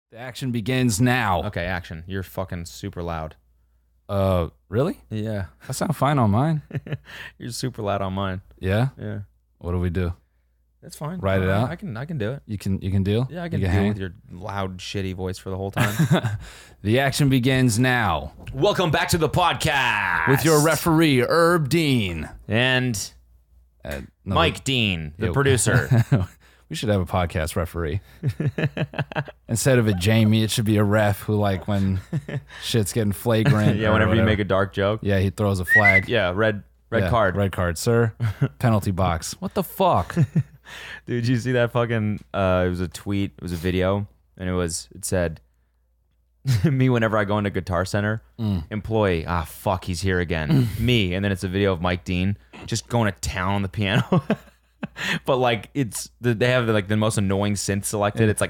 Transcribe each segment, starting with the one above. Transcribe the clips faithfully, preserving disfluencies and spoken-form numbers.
The action begins now. Okay, action. You're fucking super loud. Uh, really? Yeah. I sound fine on mine. You're super loud on mine. Yeah? Yeah. What do we do? That's fine. Write it Uh, out? I can I can do it. You can you can deal? Yeah, I can you deal hang? with your loud, shitty voice for the whole time. The action begins now. Welcome back to the podcast. With your referee, Herb Dean. and Uh, no, Mike Dean, the Yeah. producer. We should have a podcast referee. Instead of a Jamie, it should be a ref who, like, when shit's getting flagrant. yeah, or whenever you whatever, make a dark joke. Yeah, he throws a flag. Yeah, red red Yeah, card. Red card, sir. Penalty box. What the fuck? Dude, did you see that fucking uh it was a tweet, it was a video, and it was it said me whenever I go into Guitar Center, Mm. employee, ah fuck, he's here again. Me, and then it's a video of Mike Dean just going to town on the piano. But like it's the, they have like the most annoying synth selected. It's like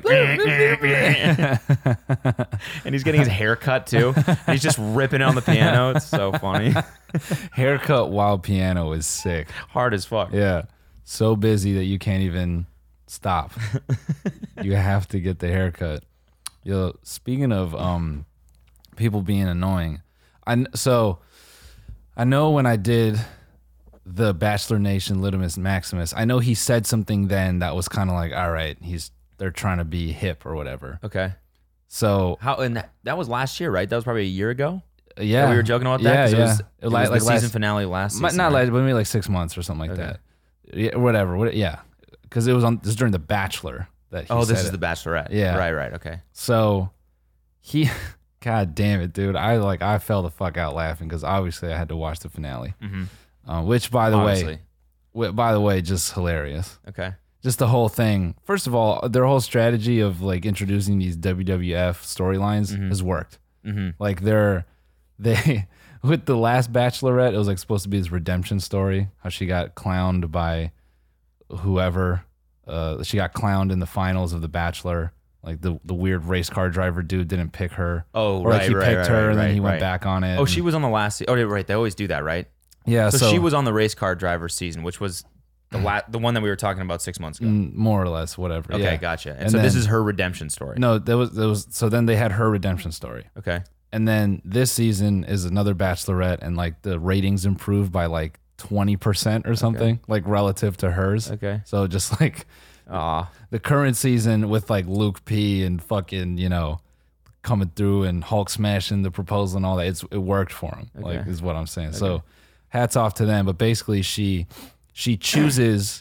and he's getting his hair cut too. And he's just ripping it on the piano. It's so funny. Haircut while piano is sick. Hard as fuck. Yeah. So busy that you can't even stop. You have to get the haircut. Yo, speaking of um people being annoying, I kn- so I know when I did the Bachelor Nation Litimus Maximus, I know he said something then that was kind of like, all right, he's they're trying to be hip or whatever. Okay. So How and that, that was last year, right? That was probably a year ago. yeah, That we were joking about that. Yeah, 'Cause yeah. It was, it It was like- the like season last- finale last Mi- season. not right? like, but maybe like six months or something like Okay. that. Yeah, whatever. What, yeah, because it was on. This is during the Bachelor that. He Oh, this said is it. the Bachelorette. Yeah. Right. Right. Okay. So he, God damn it, dude! I like I fell the fuck out laughing because obviously I had to watch the finale, Mm-hmm. uh, which by the Obviously. way, wi- by the way, just hilarious. Okay. Just the whole thing. First of all, their whole strategy of like introducing these W W F storylines Mhm. has worked. Mm-hmm. Like they're they with the last Bachelorette, it was like supposed to be this redemption story. How she got clowned by whoever. Uh, she got clowned in the finals of the Bachelor. Like the the weird race car driver dude didn't pick her. Oh, Or right. like he right, picked right, her right, and then right, he went right. back on it. Oh, and- she was on the last. Se- oh, right. They always do that, right? yeah. So, So, she was on the race car driver season, which was the la- the one that we were talking about six months ago. mm, more or less whatever. Okay, yeah. gotcha. And, And so this then- is her redemption story. No, there was there was so then they had her redemption story. Okay. And then this season is another Bachelorette, and like the ratings improved by like twenty percent or something, like relative to hers. Okay. So just like Aw. the current season with like Luke P and fucking, you know, coming through and Hulk smashing the proposal and all that, it's it worked for him. Like Okay. is what I'm saying. So hats off to them. But basically she she chooses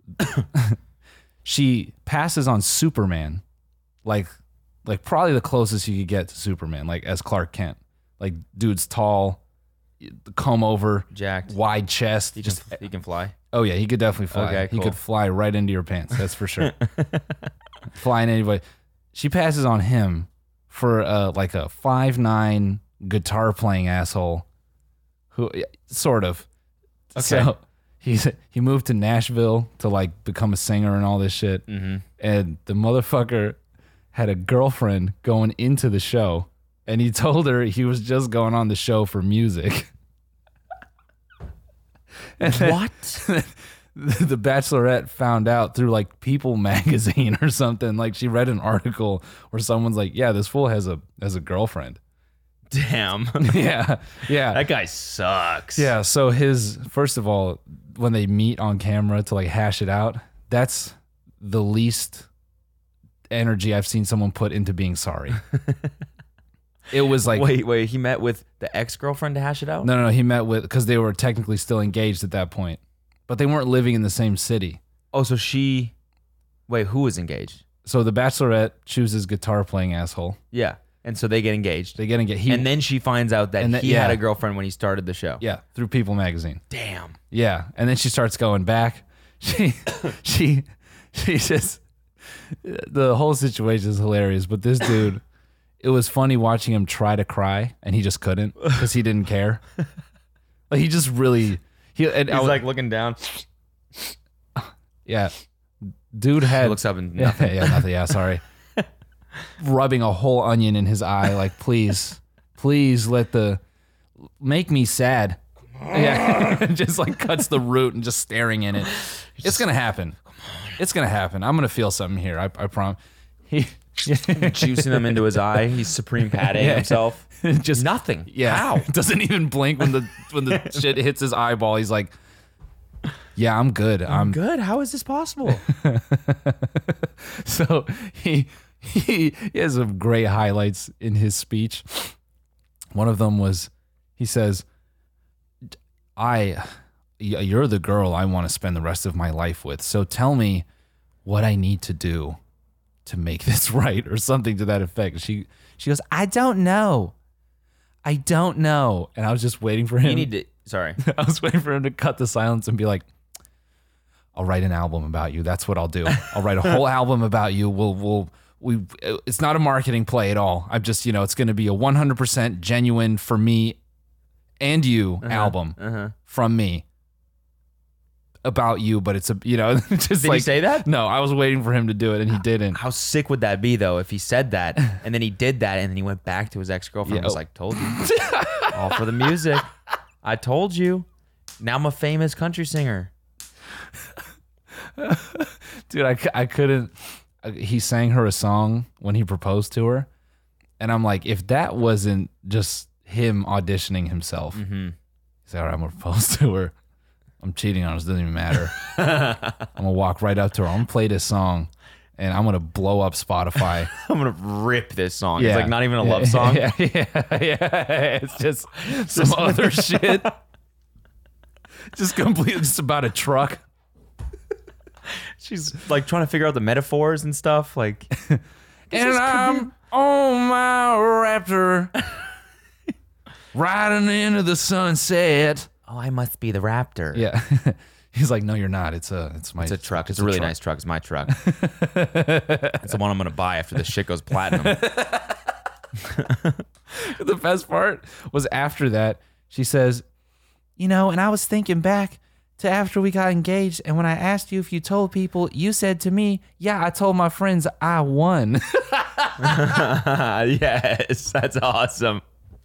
she passes on Superman, like like probably the closest you could get to Superman, like as Clark Kent. Like dude's tall, comb over, Jacked. wide chest. He Just can, he can fly. oh yeah, he could definitely fly. Okay, He cool. could fly right into your pants. That's for sure. Flying anybody. She passes on him for uh, like a five nine guitar playing asshole. Who yeah, sort of. Okay. So he's he moved to Nashville to like become a singer and all this shit. Mm-hmm. And the motherfucker had a girlfriend going into the show, and he told her he was just going on the show for music. And then What? the Bachelorette found out through like People magazine or something. Like she read an article where someone's like, "Yeah, this fool has a has a girlfriend." Damn. yeah, yeah, That guy sucks. yeah. So his first of all, when they meet on camera to like hash it out, that's the least energy I've seen someone put into being sorry. It was like wait, wait. He met with the ex-girlfriend to hash it out? no, no, no. He met with because they were technically still engaged at that point, but they weren't living in the same city. Oh, so she... Wait, who was engaged? So the Bachelorette chooses guitar playing asshole. Yeah. And so they get engaged. They get engaged. He, and then she finds out that and then- he had yeah. a girlfriend when he started the show. yeah, through People magazine. Damn. Yeah, and then she starts going back. She, she, she just the whole situation is hilarious. But this dude, it was funny watching him try to cry, and he just couldn't because he didn't care. Like he just really he. And I He's was- like looking down. yeah, dude He had looks up and yeah, nothing. yeah, nothing. Yeah, sorry. Rubbing a whole onion in his eye, like please, please let the make me sad. Yeah, just like cuts the root and just staring in it. It's gonna happen. It's gonna happen. I'm gonna feel something here. I, I promise. He juicing them into his eye. He's supreme patting Yeah. himself. Just Nothing. Yeah. How? Doesn't even blink when the when the shit hits his eyeball. He's like, yeah, I'm good. I'm, I'm good. How is this possible? So he, he he has some great highlights in his speech. One of them was, he says, I you're the girl I want to spend the rest of my life with. So tell me what I need to do to make this right, or something to that effect. She she goes, I don't know. I don't know. And I was just waiting for him. You need to. Sorry. I was waiting for him to cut the silence and be like, I'll write an album about you. That's what I'll do. I'll write a whole album about you. We'll we'll we it's not a marketing play at all. I'm just, you know, it's going to be a one hundred percent genuine for me and you Uh-huh, album uh-huh. from me about you, but it's a, you know, just Did like, he say that? No, I was waiting for him to do it and he didn't. How sick would that be, though, if he said that and then he did that and then he went back to his ex-girlfriend Yeah. and was like, told you. All for the music. I told you. Now I'm a famous country singer. Dude, I, c- I couldn't. He sang her a song when he proposed to her. And I'm like, if that wasn't just him auditioning himself, Mm-hmm. he's like, all right, I'm going to propose to her. I'm cheating on her. It doesn't even matter. I'm going to walk right up to her. I'm going to play this song and I'm going to blow up Spotify. I'm going to rip this song. Yeah. It's like not even a Yeah, love song. Yeah, yeah, yeah. It's just some other shit. Just completely just about a truck. She's like trying to figure out the metaphors and stuff. Like, And I'm on my Raptor, riding into the sunset. oh, I must be the Raptor. Yeah, he's like, no, you're not. It's a, it's my, It's a truck. It's, a really nice truck. It's my truck. It's the one I'm going to buy after this shit goes platinum. The best part was after that, she says, you know, and I was thinking back to after we got engaged, and when I asked you if you told people, you said to me, yeah, I told my friends I won. Yes, that's awesome.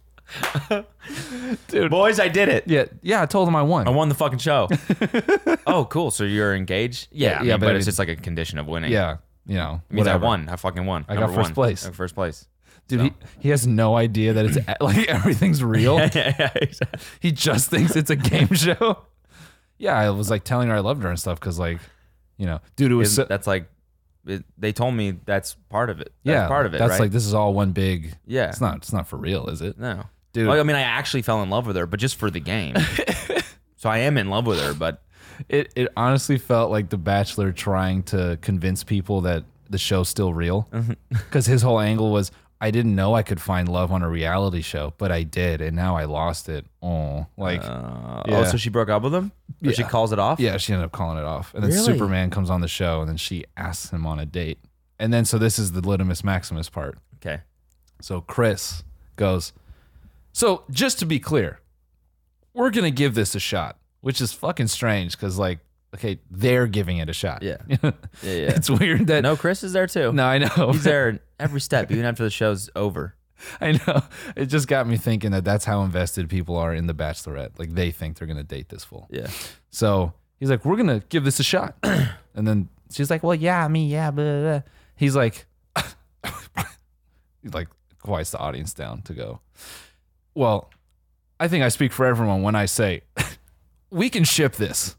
Dude. Boys, I did it. yeah, yeah, I told them I won. I won the fucking show. Oh, cool. So you're engaged? Yeah, Yeah, I mean, yeah, but, but it's it- just like a condition of winning. Yeah, you know, It means whatever. I won. I fucking won. I got Number first one. place. I got first place. Dude, So. he, he has no idea that it's like everything's real. yeah, yeah, exactly. He just thinks it's a game show. Yeah, I was like telling her I loved her and stuff because, like, you know, dude, it was Isn't- so, that's like, it, they told me that's part of it. That's yeah, part of it, That's right? like this is all one big. Yeah. it's not. It's not for real, is it? No. Dude. Well, I mean, I actually fell in love with her, but just for the game. So I am in love with her, but It it honestly felt like The Bachelor trying to convince people that the show's still real, because his whole angle was, I didn't know I could find love on a reality show, but I did, and now I lost it. Oh, like uh, Yeah. oh, so she broke up with him? Or she Yeah. calls it off? yeah, she ended up calling it off, and then Really? Superman comes on the show, and then she asks him on a date, and then so this is the Litimus Maximus part. Okay. So Chris goes, so just to be clear, we're going to give this a shot, which is fucking strange because, like, okay, they're giving it a shot. Yeah. Yeah, yeah. It's weird that. No, Chris is there too. No, I know. He's there every step, even after the show's over. I know. It just got me thinking that that's how invested people are in The Bachelorette. Like, they think they're going to date this fool. Yeah. So he's like, we're going to give this a shot. And then she's like, well, yeah, me, yeah, blah, blah, blah. He's like, he's like, quiets the audience down to go, well, I think I speak for everyone when I say we can ship this.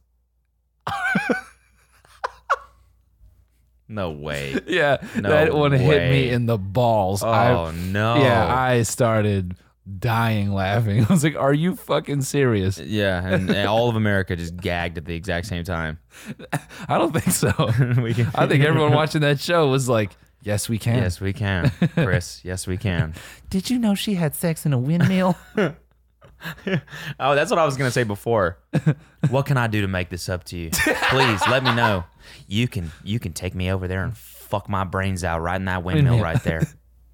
No way. Yeah, No that one hit me way. in the balls. Oh, I, no. Yeah, I started dying laughing. I was like, are you fucking serious? Yeah, and, and all of America just gagged at the exact same time. I don't think so. We can- I think everyone watching that show was like, yes, we can. Yes, we can. Chris, yes, we can. Did you know she had sex in a windmill? Oh, that's what I was going to say before. What can I do to make this up to you? Please let me know. You can you can take me over there and fuck my brains out right in that windmill Windmill. right there.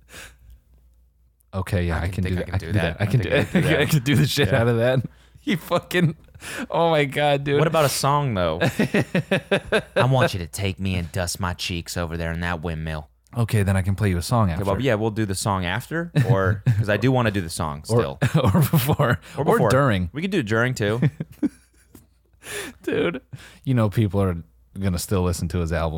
Okay, yeah, I, can can, think do I that. can I do can do that. that. I I can think do I can do that. I can do the shit Yeah. out of that. You fucking, oh my God, dude. What about a song, though? I want you to take me and dust my cheeks over there in that windmill. Okay, then I can play you a song after. Okay, well, yeah, we'll do the song after, or because I do want to do the song or, still. or before. Or, before. during. We could do it during, too. Dude, you know people are going to still listen to his album.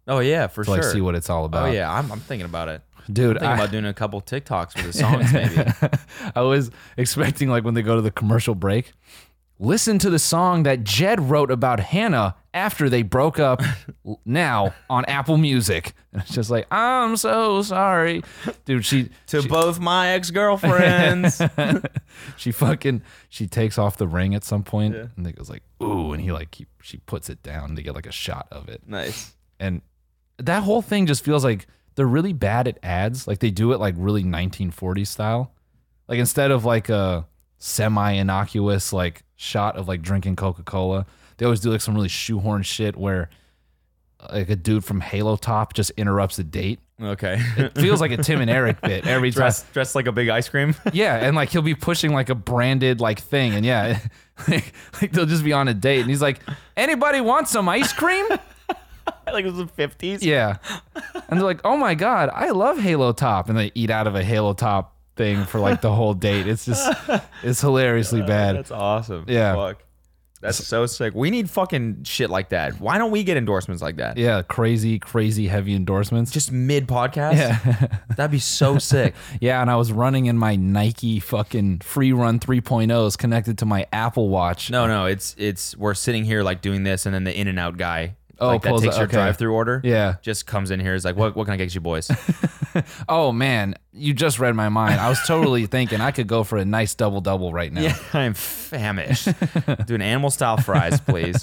Oh yeah, for to sure. like see what it's all about. Oh yeah, I'm, I'm thinking about it. Dude, I'm thinking I, about doing a couple TikToks with the songs, maybe. I was expecting like when they go to the commercial break, listen to the song that Jed wrote about Hannah after they broke up now on Apple Music. And it's just like, I'm so sorry. Dude, she To she, both my ex-girlfriends. she fucking she takes off the ring at some point, Yeah. and it goes like, ooh, and he like he, she puts it down to get like a shot of it. Nice. And that whole thing just feels like they're really bad at ads. Like they do it like really nineteen forties style. Like instead of like a semi-innocuous like shot of like drinking Coca-Cola, they always do like some really shoehorn shit where like a dude from Halo Top just interrupts a date. Okay. It feels like a Tim and Eric bit every time. Dressed, dressed like a big ice cream. Yeah, and like he'll be pushing like a branded like thing, and yeah, like, like they'll just be on a date, and he's like, "Anybody want some ice cream?" Like it was the fifties. Yeah, and they're like, "Oh my god, I love Halo Top," and they eat out of a Halo Top thing for like the whole date. It's just, it's hilariously bad. That's awesome. Yeah. Fuck. That's so sick. We need fucking shit like that. Why don't we get endorsements like that? Yeah, crazy, crazy heavy endorsements. Just mid podcast? Yeah. That'd be so sick. Yeah, and I was running in my Nike fucking Free Run three point ohs connected to my Apple Watch. No, no, it's it's we're sitting here like doing this, and then the in and out guy, Oh, like that pulls takes it- your okay. drive through order. Yeah. Just comes in here. Is like, what what can I get you boys? Oh man, you just read my mind. I was totally thinking I could go for a nice double double right now. Yeah, I'm famished. Doing animal style fries, please.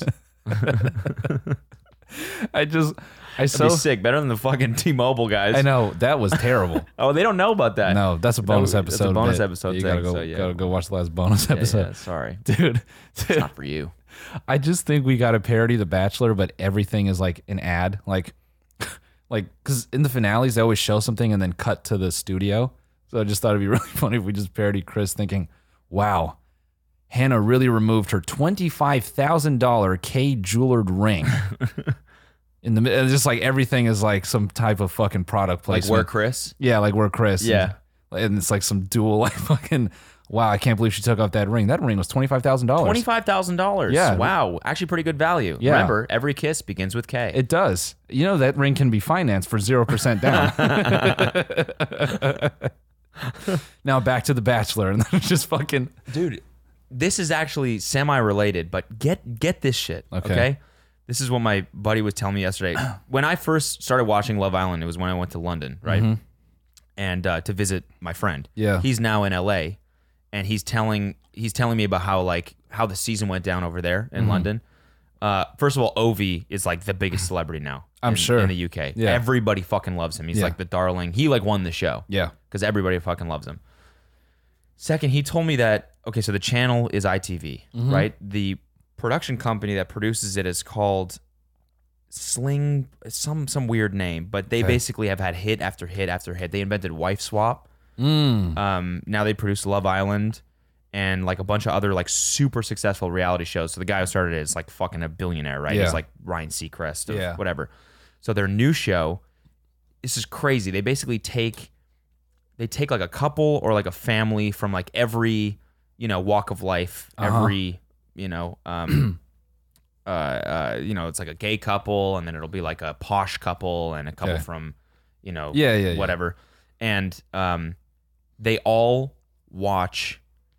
I just, I That'd so be sick. Better than the fucking T-Mobile guys. I know that was terrible. Oh, they don't know about that. No, that's a bonus That- that's a episode. bonus bit. episode You thing, gotta go, so yeah. gotta go watch the last bonus Yeah, episode, yeah, sorry. dude. It's dude not for you. I just think we got to parody The Bachelor, but everything is like an ad, like, like because in the finales they always show something and then cut to the studio. So I just thought it'd be really funny if we just parodied Chris thinking, "Wow, Hannah really removed her twenty-five thousand dollar K jeweled ring." In the mi- and just like everything is like some type of fucking product Like placement. where Chris? Yeah, like we're Chris. Yeah. And, and it's like some dual like fucking. Wow, I can't believe she took off that ring. That ring was twenty-five thousand dollars. Twenty-five thousand dollars. Yeah. Wow. Actually, pretty good value. Yeah. Remember, every kiss begins with K. It does. You know that ring can be financed for zero percent down. Now back to The Bachelor, and then just fucking. Dude, this is actually semi-related, but get get this shit. Okay. Okay. This is what my buddy was telling me yesterday. When I first started watching Love Island, it was when I went to London, right? And uh, to visit my friend. Yeah. He's now in L A, and he's telling he's telling me about how like how the season went down over there in London. Uh, first of all, Ovi is like the biggest celebrity now. I'm in, sure. in the U K. Yeah. Everybody fucking loves him. He's Yeah. like the darling. He like won the show. Yeah. Because everybody fucking loves him. Second, he told me that okay, so the channel is I T V, Mm-hmm. right? The production company that produces it is called Sling, some some weird name, but they Okay. basically have had hit after hit after hit. They invented Wife Swap. Mm. Um, now they produce Love Island and like a bunch of other like super successful reality shows. So the guy who started it is like fucking a billionaire, right? Yeah. He's like Ryan Seacrest or Yeah. whatever. So their new show, this is crazy. They basically take they take like a couple or like a family from like every, you know, walk of life, Uh-huh. every, you know, um uh, uh you know, it's like a gay couple, and then it'll be like a posh couple and a couple Okay. from, you know, Yeah, yeah, yeah. whatever. And um they all watch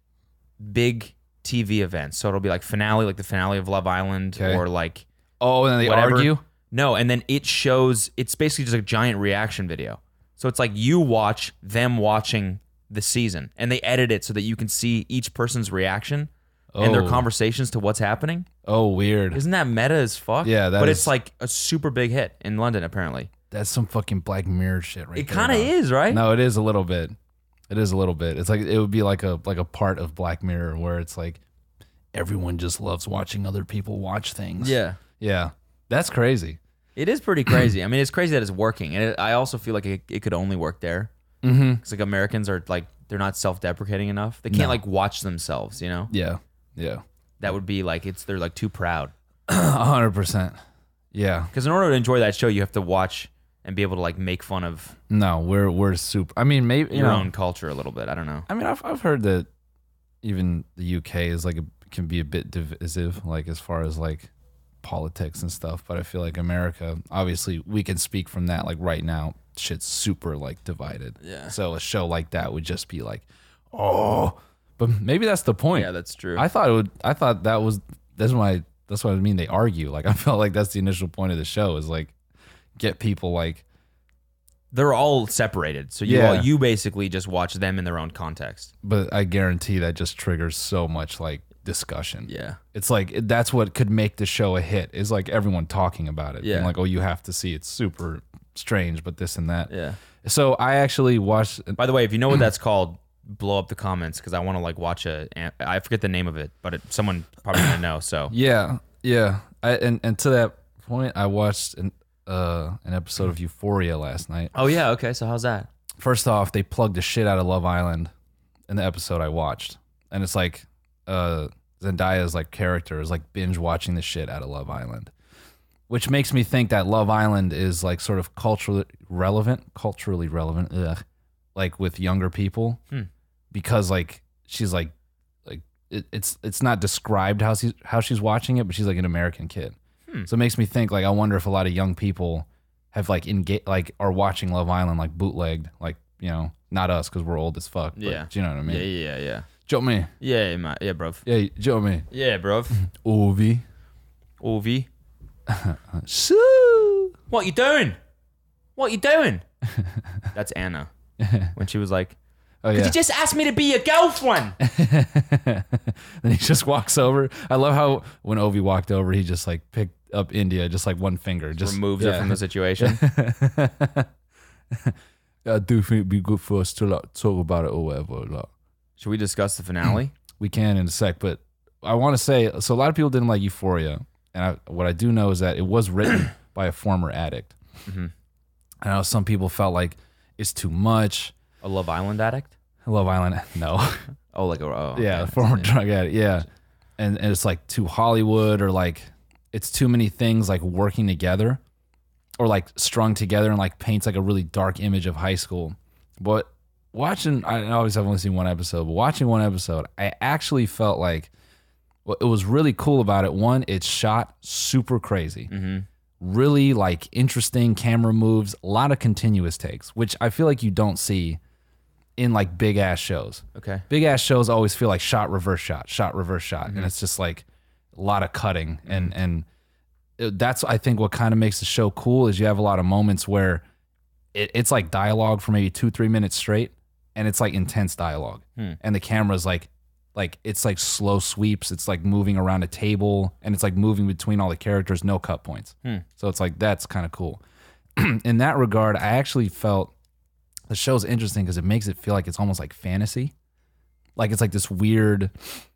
big T V events. So it'll be like finale, like the finale of Love Island, Okay. or like Oh, and then they whatever. argue. No, and then it shows, it's basically just a giant reaction video. So it's like you watch them watching the season, and they edit it so that you can see each person's reaction and their Oh. conversations to what's happening. Oh, weird. Isn't that meta as fuck? Yeah, that But is- it's like a super big hit in London, apparently. That's some fucking Black Mirror shit, right It there, kind of dog. is, right? No, it is a little bit. It is a little bit. It's like it would be like a like a part of Black Mirror where it's like everyone just loves watching other people watch things. Yeah. Yeah. That's crazy. It is pretty crazy. I mean, it's crazy that it's working, and it, I also feel like it, it could only work there. Mm-hmm. Because like Americans are like they're not self-deprecating enough. They can't No. like watch themselves. You know, Yeah. Yeah. that would be like it's they're like too proud. A hundred percent. Yeah. Because in order to enjoy that show, you have to watch and be able to like make fun of No, we're we're super. I mean, maybe you your know, own culture a little bit. I don't know. I mean, I've I've heard that even the U K is like a, can be a bit divisive, like as far as like politics and stuff, but I feel like America, obviously, we can speak from that. Like right now, shit's super like divided. Yeah. So a show like that would just be like, oh, but maybe that's the point. Yeah, that's true. I thought it would. I thought that was that's why that's what I mean. They argue. Like I felt like that's the initial point of the show is like get people like. They're all separated, so you Yeah. all, you basically just watch them in their own context. But I guarantee that just triggers so much like discussion. Yeah. It's like that's what could make the show a hit is like everyone talking about it. Yeah. And like, oh, you have to see it's super strange, but this and that. Yeah. So I actually watched. By the way, if you know what that's called, blow up the comments because I want to like watch a. I forget the name of it, but it, someone probably gonna know. So Yeah, yeah. I and, and to that point, I watched an uh an episode of Euphoria last night. oh yeah, okay. So how's that? First off, they plugged the shit out of Love Island in the episode I watched, and it's like uh Zendaya's like character is like binge watching the shit out of Love Island, which makes me think that Love Island is like sort of culturally relevant, culturally relevant, ugh, like with younger people, Hmm. because like she's like like it, it's it's not described how she's how she's watching it, but she's like an American kid, Hmm. so it makes me think like I wonder if a lot of young people have like engaged like are watching Love Island like bootlegged, like you know not us because we're old as fuck, but Yeah. you know what I mean? Yeah, yeah, yeah, Joe me, yeah, yeah, ma- yeah, bro. yeah, Joe me, Yeah, bro. Ovi, Ovi, Shoo. what you doing? What you doing? That's Anna when she was like, Oh "Could yeah. you just ask me to be your girlfriend?" Then he just walks over. I love how when Ovi walked over, he just like picked up India, just like one finger, just Removes yeah. her from the situation. I do think it'd be good for us to like talk about it or whatever. Like, Should we discuss the finale? we can in a sec, but I want to say so. A lot of people didn't like Euphoria, and I, what I do know is that it was written by a former addict. Mhm. I know some people felt like it's too much. A Love Island addict? Love Island, no. Oh, like a oh, Yeah, okay. former Yeah. drug addict. Yeah, and and it's like too Hollywood or like it's too many things like working together, or like strung together and like paints like a really dark image of high school. But watching, I always have only seen one episode, but watching one episode, I actually felt like what it was really cool about it. One, it's shot super crazy, Mm-hmm. really like interesting camera moves, a lot of continuous takes, which I feel like you don't see in like big ass shows. Okay. Big ass shows always feel like shot, reverse shot, shot, reverse shot, and it's just like a lot of cutting, and and it- that's I think what kind of makes the show cool is you have a lot of moments where it, it's like dialogue for maybe two three minutes straight, and it's like intense dialogue, Hmm. and the camera's like like it's like slow sweeps, it's like moving around a table, and it's like moving between all the characters, no cut points. Hmm. So it's like that's kind of cool. In that regard, I actually felt the show's interesting because it makes it feel like it's almost like fantasy. Like it's like this weird,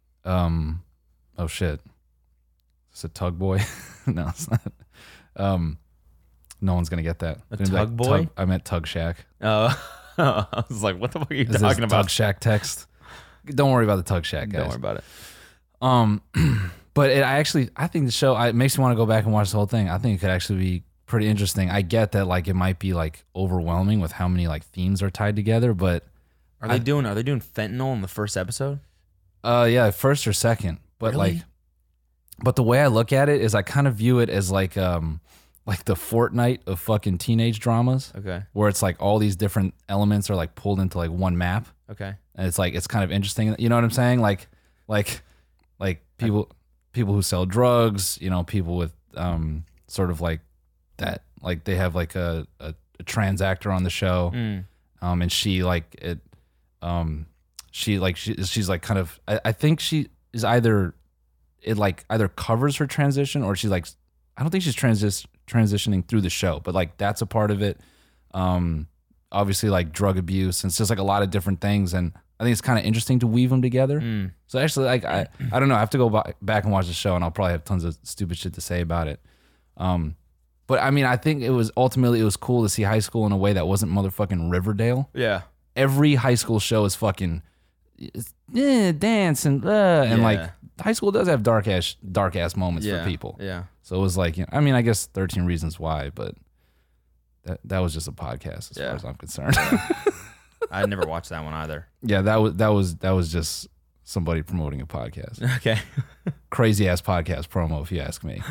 um, oh shit. It's a tug boy. No, it's not. Um, no one's gonna get that. A It's gonna be tug boy? Tug, I meant Tug Shack. Oh, I was like, what the fuck are you Is this talking about? Tug Shack text? Don't worry about the Tug Shack, guys. Don't worry about it. Um, but it, I actually, I think the show, I, it makes me want to go back and watch the whole thing. I think it could actually be pretty interesting. I get that, like, it might be like overwhelming with how many like themes are tied together, but Are they doing? Are they doing fentanyl in the first episode? uh, yeah, first or second. But Really? like, but the way I look at it is, I kind of view it as like, um, like the Fortnite of fucking teenage dramas, Okay. where it's like all these different elements are like pulled into like one map. Okay. And it's like it's kind of interesting. You know what I'm saying? Like, like, like people, people who sell drugs. You know, people with um, sort of like that. Like they have like a, a, a trans actor on the show, Mm. um, and she like it, um, she like she, she's like kind of. I, I think she is either it like either covers her transition or she's like I don't think she's transis transitioning through the show, but like that's a part of it. Um, obviously like drug abuse, and it's just like a lot of different things, and I think it's kind of interesting to weave them together. Mm. So actually, like I, I don't know, I have to go ba- back and watch the show, and I'll probably have tons of stupid shit to say about it. Um, but I mean, I think it was ultimately it was cool to see high school in a way that wasn't motherfucking Riverdale. Yeah. Every high school show is fucking it's, eh, dance and uh, and Yeah. like high school does have dark ass dark ass moments Yeah. for people. Yeah. So it was like, you know, I mean, I guess thirteen Reasons Why, but that that was just a podcast as Yeah. far as I'm concerned. I never watched that one either. Yeah, that was that was that was just somebody promoting a podcast. Okay. Crazy ass podcast promo, if you ask me.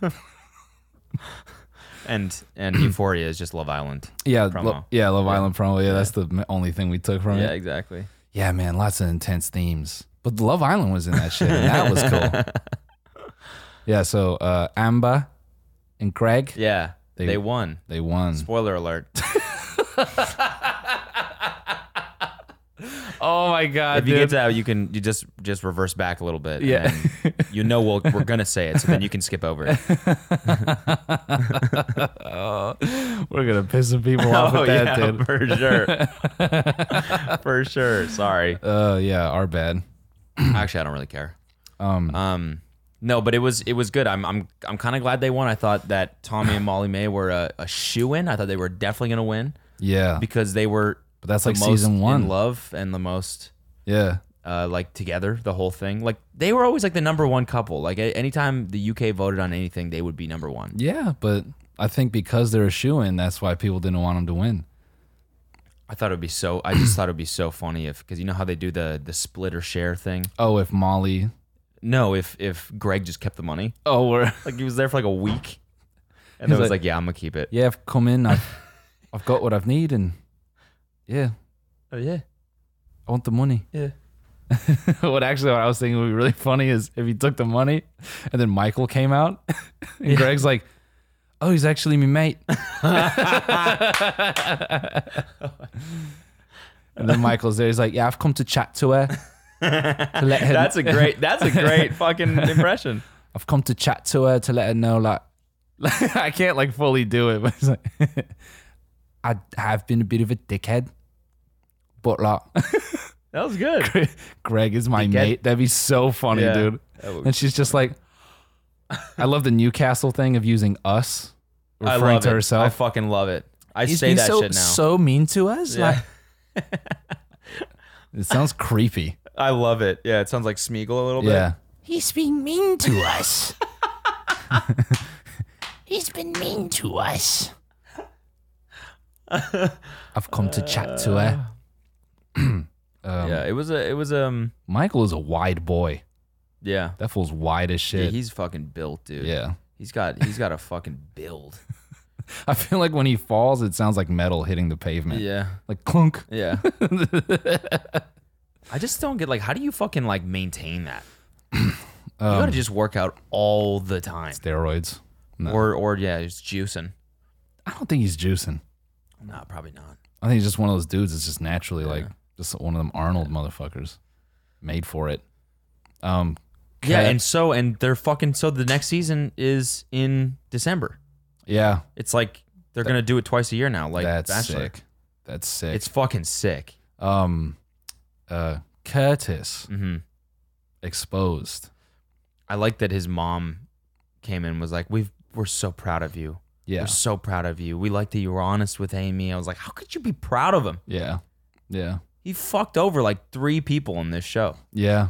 And and Euphoria is just Love Island. Yeah, promo. Lo- yeah, Love Yeah. Island promo. Yeah, Yeah. that's the m- only thing we took from Yeah, it. exactly. Yeah, man, lots of intense themes. But Love Island was in that shit, and that was cool. Yeah, so uh, Amber and Greg, Yeah, They- they, won. they won. Spoiler alert. Oh my god, If you dude. get to that, you can you just just reverse back a little bit. Yeah. And then you know we'll, we're gonna say it, so then you can skip over it. Oh, we're gonna piss some people off with that, yeah, dude. for sure. For sure. Sorry. Uh, yeah, our bad. Actually, I don't really care. Um, Um, no, but it was it was good. I'm I'm I'm kind of glad they won. I thought that Tommy and Molly May were a, a shoe-in. I thought they were definitely gonna win yeah, because they were but that's the like most season one. in love and the most Yeah, uh like together. The whole thing, like they were always like the number one couple. Like a- anytime the U K voted on anything, they would be number one. yeah, but I think because they're a shoe-in, that's why people didn't want them to win. I thought it would be so. I just thought it would be so funny if because you know how they do the the split or share thing. Oh, if Molly. No, if if Greg just kept the money, Oh, we're like he was there for like a week, and He's then was like- like, "Yeah, I'm gonna keep it." yeah. I've come in. I've I've got what I've need, and yeah, Oh yeah, I want the money. yeah. What actually what I was thinking would be really funny is if he took the money, and then Michael came out, and Greg's like, "Oh, he's actually my mate." And then Michael's there. He's like, "Yeah, I've come to chat to her. To let her That's a great. That's a great fucking impression. I've come to chat to her to let her know, like, I can't like fully do it, but it's like, I have been a bit of a dickhead, but like, That was good. Greg is my Dickhead? mate. That'd be so funny, Yeah. dude. That would- And she's just like, I love the Newcastle thing of using us, I referring love to it. I herself. fucking love it. I He's say been that so, shit now. so mean to us. Yeah. Like, it sounds creepy. I love it. Yeah, it sounds like Smeagol a little bit. Yeah. He's been mean to us. He's been mean to us. I've come to chat to her. um, yeah. It was a. It was um. Michael is a wide boy. Yeah. That fool's wide as Yeah, shit. he's fucking built, dude. Yeah. He's got. He's got a fucking build. I feel like when he falls, it sounds like metal hitting the pavement. Yeah. Like clunk. Yeah. I just don't get like how do you fucking like maintain that? You Um, gotta just work out all the time. Steroids. No. Or or yeah, just juicing. I don't think he's juicing. No, probably not. I think he's just one of those dudes that's just naturally like Yeah. just one of them Arnold motherfuckers. Made for it. Um Yeah, Kat- and so and they're fucking so the next season is in December. yeah, It's like they're gonna do it twice a year now. Like that's Bachelor. sick. That's sick. It's fucking sick. um uh Curtis hmm exposed. I like that his mom came in and was like, "We've we're so proud of you. Yeah. We're so proud of you. We like that you were honest with Amy." I was like, "How could you be proud of him? Yeah. Yeah. He fucked over like three people in this show." Yeah.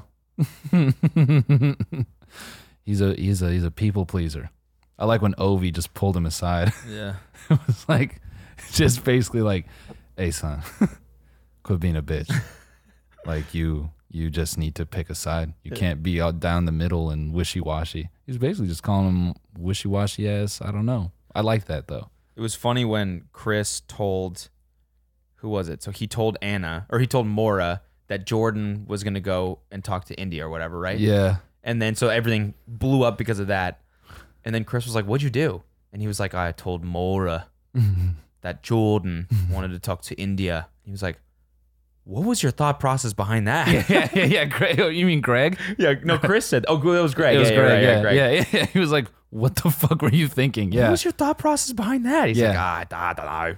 he's a he's a he's a people pleaser. I like when Ovi just pulled him aside. Yeah. It was like just basically like, "Hey son, quit being a bitch. Like you you just need to pick a side. You can't be out down the middle and wishy-washy." He's basically just calling him wishy-washy ass. I don't know. I like that though. It was funny when Chris told, who was it? So he told Anna, or he told Maura that Jordan was going to go and talk to India or whatever, right? Yeah. And then so everything blew up because of that. And then Chris was like, "What'd you do?" And he was like, "I told Maura that Jordan wanted to talk to India." He was like, "What was your thought process behind that?" yeah, yeah, yeah, yeah. Greg, you mean Greg? Yeah, no, Chris said, "Oh, it was Greg." It was yeah, Greg. yeah, Yeah, Greg. yeah, yeah, yeah. He was like, "What the fuck were you thinking?" Yeah. What was your thought process behind that? He's Yeah. like, "Ah,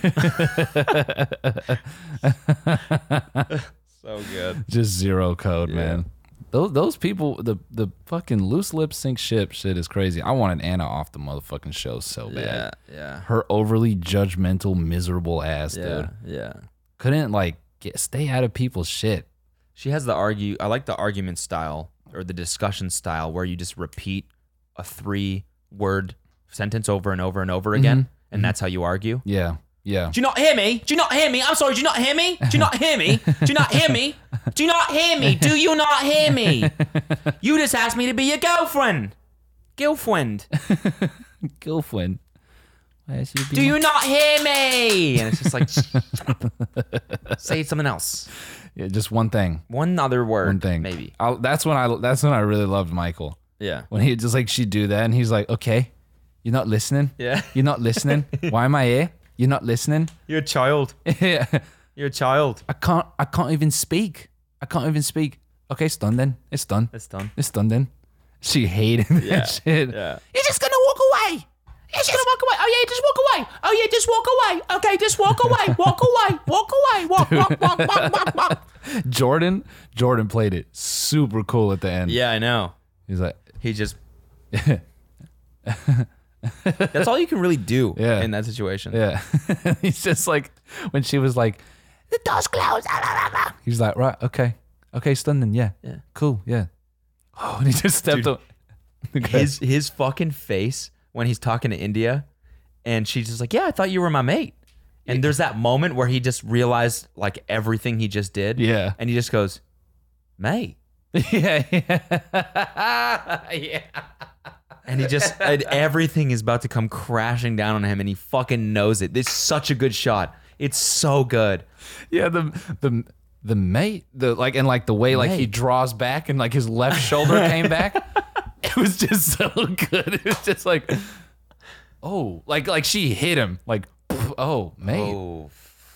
I don't know." So good. Just zero code, Yeah. man. Those those people, the the fucking loose lips sink ship shit is crazy. I wanted Anna off the motherfucking show so bad. Yeah, yeah, Her overly judgmental, miserable ass, yeah, dude. yeah. Couldn't like get stay out of people's shit. She has the argue. I like the argument style or the discussion style where you just repeat a three word sentence over and over and over again, and that's how you argue. Yeah, yeah. Do you not hear me? Do you not hear me? I'm sorry. Do you not hear me? Do you not hear me? Do you not hear me? Do you not hear me? Do you not hear me? You just asked me to be your girlfriend. Girlfriend. Girlfriend. Do you not hear me? And it's just like, say something else. Yeah, just one thing. One other word. One thing. Maybe. I'll, that's when I. That's when I really loved Michael. Yeah. When he just like she'd do that, and he's like, "Okay, you're not listening. Yeah. You're not listening. Why am I here? You're not listening. You're a child. Yeah. You're a child. I can't. I can't even speak. I can't even speak. Okay, it's done then. It's done. It's done. It's done then." She hated that Yeah. shit. Yeah. You're just gonna walk away. You're just gonna walk away. Oh yeah, just walk away. Oh yeah, just walk away. Okay, just walk away. Walk away. Walk away. Walk, walk, walk, walk, walk, walk. Jordan. Jordan played it super cool at the end. Yeah, I know. He's like, He just. That's all you can really do Yeah. in that situation. yeah. He's just like when she was like, The door's closed. Ah, ah, ah, ah. he's like, right, okay, okay, stunned then, yeah, Yeah. cool, yeah. Oh, and he just stepped Dude, up. His his fucking face when he's talking to India, and she's just like, "Yeah, I thought you were my mate." And there's that moment where he just realized like everything he just did. Yeah. And he just goes, "Mate." yeah, yeah, yeah. And he just and everything is about to come crashing down on him, and he fucking knows it. This is such a good shot. It's so good. Yeah, the the the mate, the like, and like the way like he Mate. draws back and like his left shoulder came back. It was just so good. It was just like, oh, like like she hit him like, oh, mate. Oh,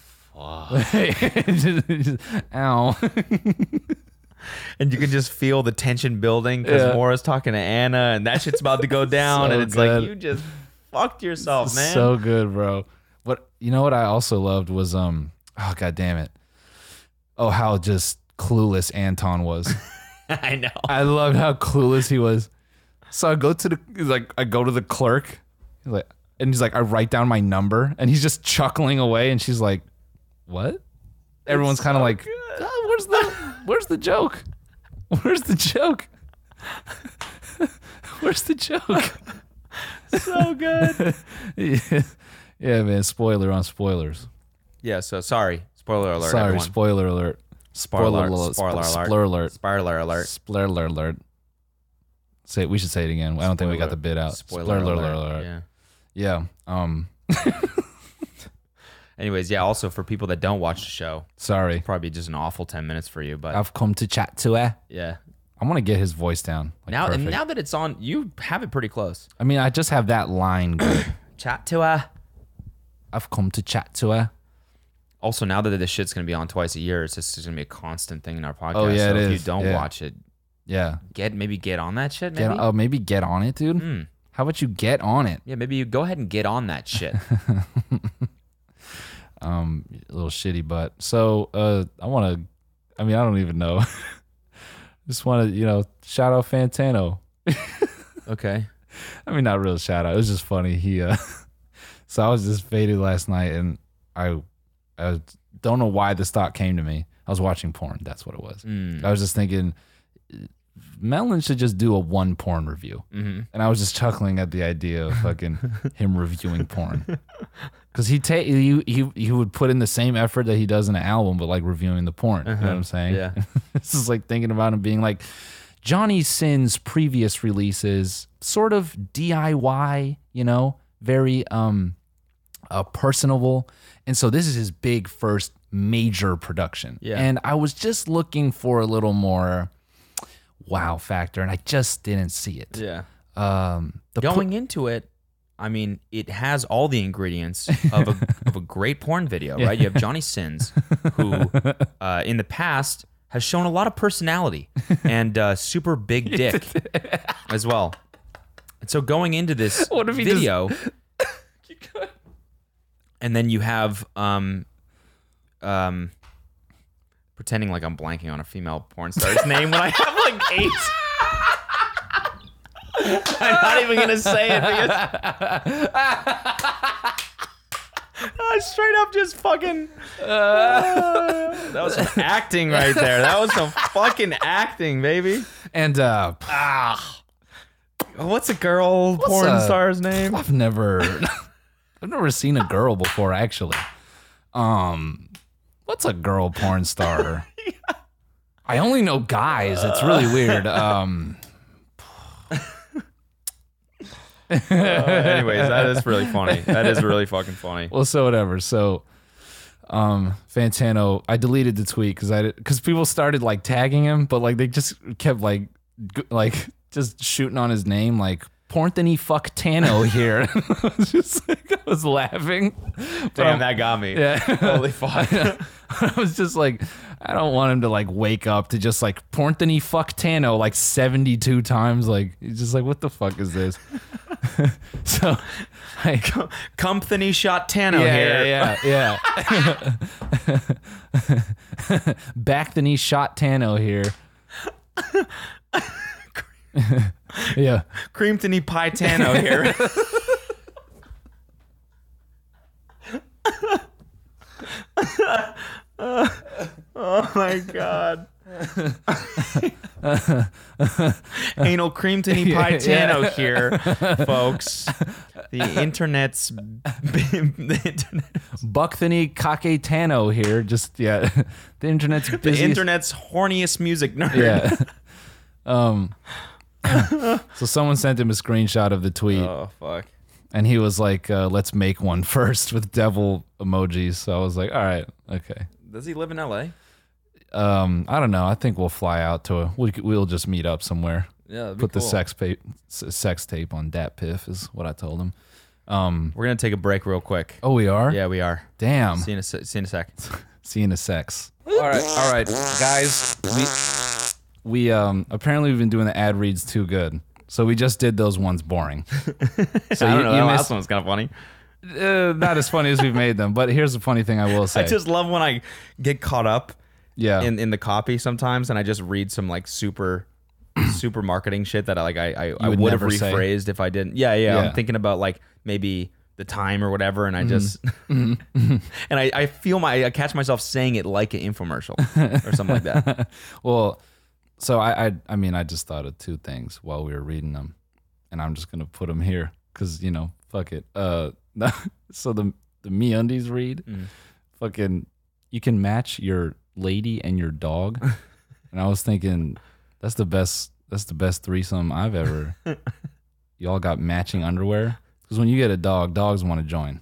Just- just- ow. and you can just feel the tension building because Yeah. Maura's talking to Anna, and that shit's about to go down, So and it's good. like you just fucked yourself, man. So good, bro. What you know what I also loved was um oh god damn it. Oh, how just clueless Anton was. I know. I loved how clueless he was. So I go to the he's like I go to the clerk. He's like and he's like, I write down my number, and he's just chuckling away, and she's like, what? Everyone's kind of so like, good. oh, where's the where's the joke? Where's the joke? Where's the joke? So good. yeah. Yeah, man. Spoiler on spoilers. Yeah, so sorry. Spoiler alert. Sorry, everyone. spoiler alert. Spoiler alert. alert. Spoiler alert. Spoiler alert. Spoiler alert. Spoiler alert. Say it, we should say it again. I don't think we got the bit out. Spoiler, alert. Yeah. Yeah. Um. Anyways, yeah, also for people that don't watch the show, Sorry. probably just an awful ten minutes for you, but I've come to chat to her. yeah. I want to get his voice down. Like, Now and perfect. now that it's on, you have it pretty close. I mean, I just have that line good. Chat to her. I've come to chat to her. Also, now that this shit's gonna be on twice a year, it's just gonna be a constant thing in our podcast. Oh, yeah, so it if is. you don't Yeah. watch it, Yeah. get maybe get on that shit. Maybe. Get, oh, maybe get on it, dude. Mm. How about you get on it? Yeah, maybe you go ahead and get on that shit. Um, little shitty butt. So, uh, I want to. I mean, I don't even know. Just want to, you know, shout out Fantano. Okay. I mean, not real shout out. It was just funny. He, uh, so I was just faded last night, and I, I don't know why this thought came to me. I was watching porn. That's what it was. Mm. I was just thinking, Melon should just do a one porn review. Mm-hmm. And I was just chuckling at the idea of fucking him reviewing porn. Because he, ta- he he he would put in the same effort that he does in an album, but like reviewing the porn. You know what I'm saying? Yeah. This is like thinking about him being like, Johnny Sin's previous releases, sort of D I Y, you know, very um, uh, personable. And so this is his big first major production. Yeah. And I was just looking for a little more wow factor, and I just didn't see it. Yeah. Um, the pu- Going into it, I mean, it has all the ingredients of a, of a great porn video, right? You have Johnny Sins, who uh, in the past has shown a lot of personality and uh, super big dick as well. And so going into this What if he video, and then you have um, um, pretending like I'm blanking on a female porn star's name when I have like eight. I'm not even gonna say it because I straight up just fucking. Uh, that was some acting right there. That was some fucking acting, baby. and uh, Ah, what's a girl porn a- star's name? I've never, I've never seen a girl before. Actually, um, what's a girl porn star? I only know guys. It's really weird. Um, Uh, anyways, that is really funny. That is really fucking funny. well, so whatever. So, um, Fantano, I deleted the tweet because I because people started like tagging him, but like they just kept like g- like just shooting on his name, like Pornthony fuck Tano here. I was just like, I was laughing. But Damn, I'm- that got me. Yeah. Holy fuck. I was just like, I don't want him to like wake up to just like Pornthony fuck Tano like seventy-two times. Like, he's just like, what the fuck is this? So, I, Company shot Tano yeah, here. yeah, yeah, yeah. Back the knee shot Tano here. Yeah. Creamtony Pie Tano here. Oh my god. Anal Creamtony Pie Tano Yeah. here, folks. The internet's the internet, Buckthony Kake Tano here. Just, yeah. The internet's the busy. internet's horniest music nerd. Yeah. Um. So someone sent him a screenshot of the tweet, Oh fuck. and he was like, uh, "Let's make one first with devil emojis." So I was like, "All right, okay." Does he live in L A? Um, I don't know. I think we'll fly out to a. We, we'll just meet up somewhere. Yeah, that'd be Put the cool. sex pa- s- sex tape on Dat Piff is what I told him. Um. We're gonna take a break real quick. Oh, we are. Yeah, we are. Damn. See you in a, se- see you in a sec. See you in a sex. All right, all right, guys. We we um apparently we've been doing the ad reads too good, so we just did those ones boring. So I you, don't know. you That missed, last one was kind of funny. uh, not as funny as we've made them, but here's the funny thing I will say. I just love when I get caught up yeah, in, in the copy sometimes, and I just read some like super, super marketing shit that I like I I, I would would have never say. rephrased if I didn't. Yeah, yeah, Yeah. I'm thinking about like maybe the time or whatever, and I just and I, I feel my I catch myself saying it like an infomercial or something like that. well, so I, I I mean I just thought of two things while we were reading them, and I'm just gonna put them here because you know fuck it. Uh, so the the MeUndies read, Mm. fucking, you can match your lady and your dog, and I was thinking that's the best that's the best threesome I've ever. Y'all got matching underwear because when you get a dog, dogs want to join.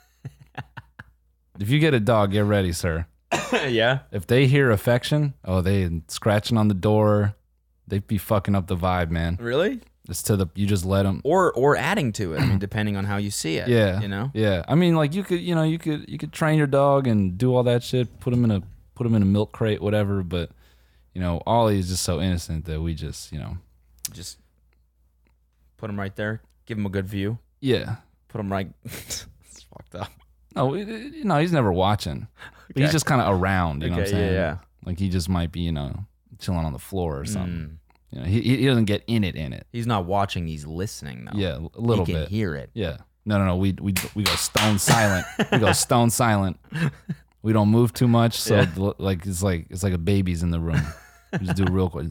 If you get a dog, get ready, sir. Yeah, If they hear affection, oh, they scratching on the door. They'd be fucking up the vibe, man. really? It's to the you just let them. Or or adding to it. I mean, depending on how you see it. Yeah, you know. Yeah, I mean, like you could, you know, you could, you could train your dog and do all that shit. Put him in a, put him in a milk crate, whatever. But you know, Ollie is just so innocent that we just, you know, Just put him right there. Give him a good view. yeah. Put him right. It's fucked up. No, it- it- you know, he's never watching, but he's Okay. just kind of around. You know what I'm Okay, yeah, saying? yeah. Like he just might be, you know, chilling on the floor or something. Mm. You know, he he doesn't get in it in it. He's not watching. He's listening though. Yeah, a little he can bit. hear it. Yeah. No, no, no. We we we go stone silent. We go stone silent. We don't move too much, so Yeah. the- like it's like it's like a baby's in the room. We just do real quick.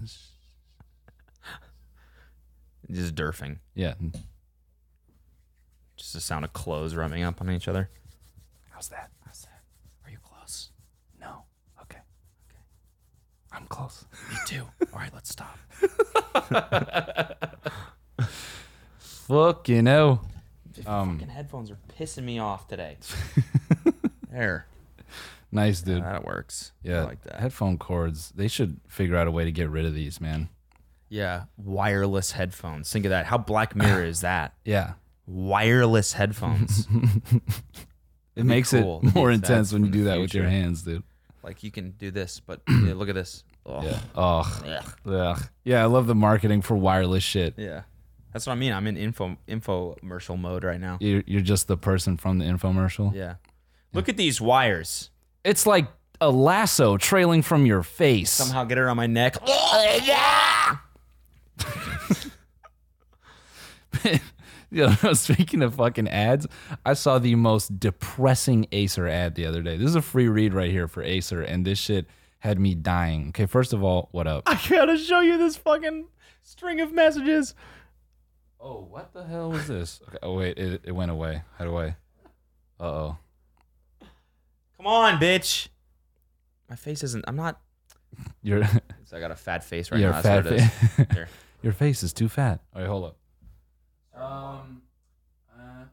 Just derfing. Yeah. Just the sound of clothes rubbing up on each other. How's that? How's that? Are you close? No. Okay. Okay. I'm close. Me too. All right, let's stop. Fuck, you know. The Um, fucking headphones are pissing me off today. There. Nice, dude. Yeah, that works. Yeah. I like that. Headphone cords. They should figure out a way to get rid of these, man. Yeah. Wireless headphones. Think of that. How Black Mirror is that? Yeah. Wireless headphones. It makes cool. it more Use intense that when you in the do that with your future. hands, dude. Like you can do this, but yeah, look at this. Oh. Yeah. Oh. Ugh. Ugh. Yeah, I love the marketing for wireless shit. Yeah. That's what I mean. I'm in info infomercial mode right now. You're, you're just the person from the infomercial. Yeah. Look at these wires. It's like a lasso trailing from your face. Somehow get it on my neck. You know, speaking of fucking ads, I saw the most depressing Acer ad the other day. This is a free read right here for Acer, and this shit had me dying. Okay, first of all, what up? I gotta show you this fucking string of messages. Oh, what the hell was this? Okay, oh, wait, it, it went away. How do I? Uh-oh. Come on, bitch. My face isn't. I'm not Your So I got a fat face right your now. fat That's what it face. is. Here. Your face is too fat. All right, hold up. Um. Uh,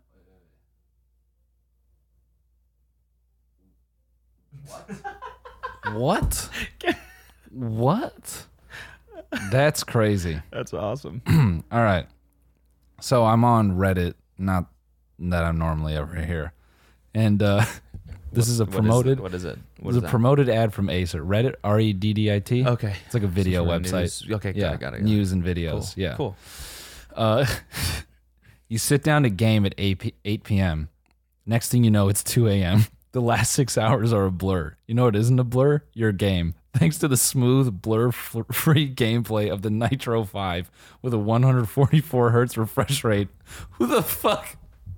what? What? That's crazy. That's awesome. All right. So I'm on Reddit, not that I'm normally ever here. And uh, this is a promoted What is it? What this is is a that? promoted ad from Acer. Reddit, R E D D I T. Okay. It's like a video For website. news. Okay, got yeah, it, got it, got it. news and videos. Cool. Yeah. Cool. Uh, you sit down to game at eight p.m. Next thing you know, it's two a.m. The last six hours are a blur. You know what isn't a blur? Your game. Thanks to the smooth, blur-free gameplay of the Nitro five with a one hundred forty-four hertz refresh rate. Who the fuck?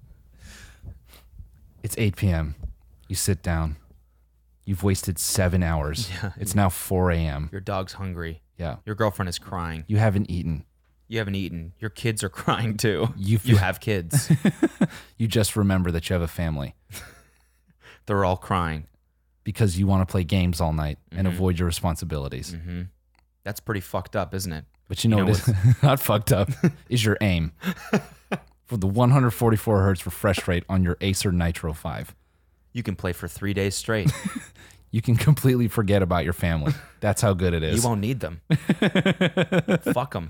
It's eight p.m. You sit down. You've wasted seven hours. Yeah. It's now four a.m. Your dog's hungry. Yeah. Your girlfriend is crying. You haven't eaten. You haven't eaten. Your kids are crying too. You You have kids. You just remember that you have a family They're all crying. because you want to play games all night and Mm-hmm. avoid your responsibilities. hmm That's pretty fucked up, isn't it? But you know, You know what is not fucked up is your aim for the one hundred forty-four hertz refresh rate on your Acer Nitro five. You can play for three days straight. You can completely forget about your family. That's how good it is. You won't need them. Fuck them.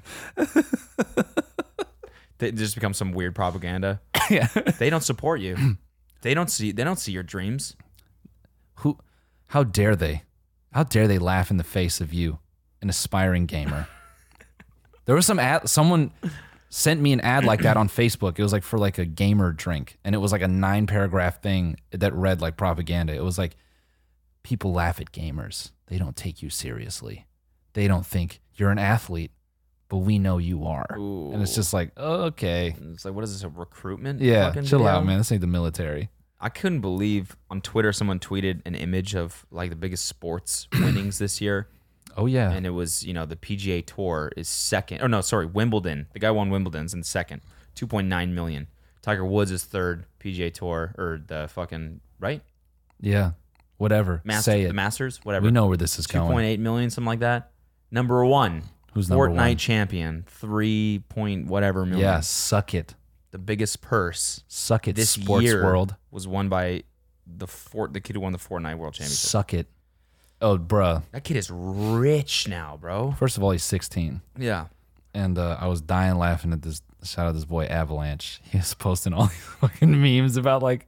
They just become some weird propaganda. Yeah. They don't support you. They don't see. They don't see your dreams. Who? How dare they? How dare they laugh in the face of you, an aspiring gamer? There was some ad. Someone sent me an ad like that on Facebook. It was like for like a gamer drink, and it was like a nine paragraph thing that read like propaganda. It was like, people laugh at gamers. They don't take you seriously. They don't think you're an athlete, but we know you are. And it's just like, okay, It's like, what is this? A recruitment? yeah, fucking chill video? out, man. This ain't the military. I couldn't believe on Twitter someone tweeted an image of like the biggest sports winnings this year. Oh yeah, And it was, you know, the P G A Tour is second. Oh, no, sorry, Wimbledon. The guy won Wimbledon's in second, two point nine million. Tiger Woods is third, P G A Tour, or the fucking, right? yeah. Whatever. Master, Say it. The Masters, whatever. We know where this is two going. point eight million, something like that. Number one. Who's number Fortnite one? champion, three point whatever million. Yeah, suck it. The biggest purse Suck it, this sports year world. was won by the Fort, the kid who won the Fortnite World Championship. Suck it. Oh, bruh. That kid is rich now, bro. First of all, he's sixteen. Yeah. And uh, I was dying laughing at this. Shout out this boy Avalanche. He was posting all these fucking memes about like,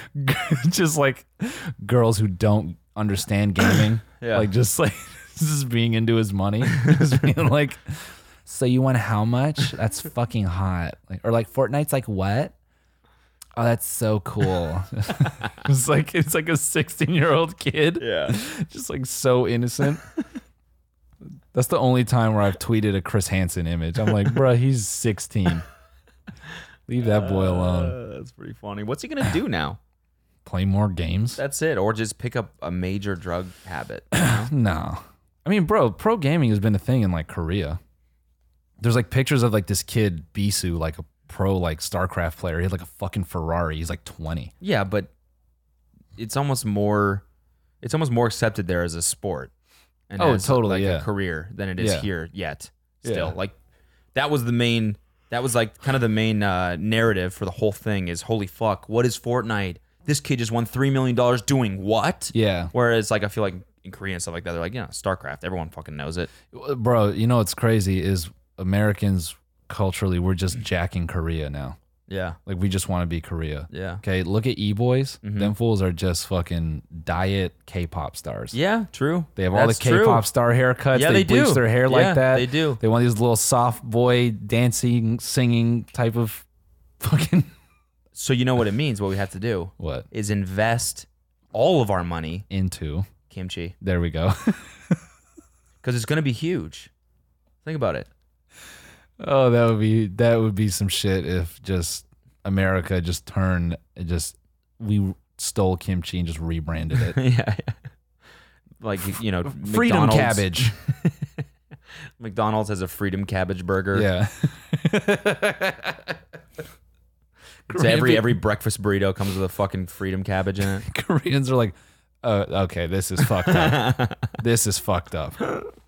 just like girls who don't understand gaming. Yeah. Like just like just being into his money. Just being like, so you want how much? That's fucking hot. Like, or like Fortnite's like what? Oh, that's so cool. It's like it's like a sixteen year old kid. Yeah. Just like so innocent. That's the only time where I've tweeted a Chris Hansen image. I'm like, bruh, he's sixteen. Leave that boy alone. Uh, that's pretty funny. What's he gonna do now? Play more games? That's it, or just pick up a major drug habit. You know? No. I mean, bro, pro gaming has been a thing in like Korea. There's like pictures of like this kid, Bisu, like a pro like StarCraft player. He had like a fucking Ferrari. He's like twenty. Yeah, but it's almost more, it's almost more accepted there as a sport. And Oh, as, totally, like yeah. a career than it is Yeah. here yet. Still, Yeah. like that was the main. That was like kind of the main uh, narrative for the whole thing. Is holy fuck, what is Fortnite? This kid just won three million dollars doing what? Yeah. Whereas like I feel like in Korea and stuff like that, they're like, you know, StarCraft. Everyone fucking knows it. Bro, you know what's crazy is Americans culturally, we're just jacking Korea now. Yeah, Like we just want to be Korea. yeah, Okay, look at E-Boys. Mhm. Them fools are just fucking diet K-pop stars. yeah. True. They have all That's the true. K-pop star haircuts. Yeah, they, they bleach do. their hair Yeah, like that. they do. They want these little soft boy dancing, singing type of fucking So you know what it means. What we have to do what? is invest all of our money Into. kimchi There we go. because it's gonna be huge. Think about it. Oh, that would be that would be some shit if just America just turned it just we stole kimchi and just rebranded it. yeah, yeah. Like you know, Freedom McDonald's- cabbage. McDonald's has a freedom cabbage burger. Yeah. It's every every breakfast burrito comes with a fucking freedom cabbage in it. Koreans are like, uh, okay, this is fucked up. This is fucked up.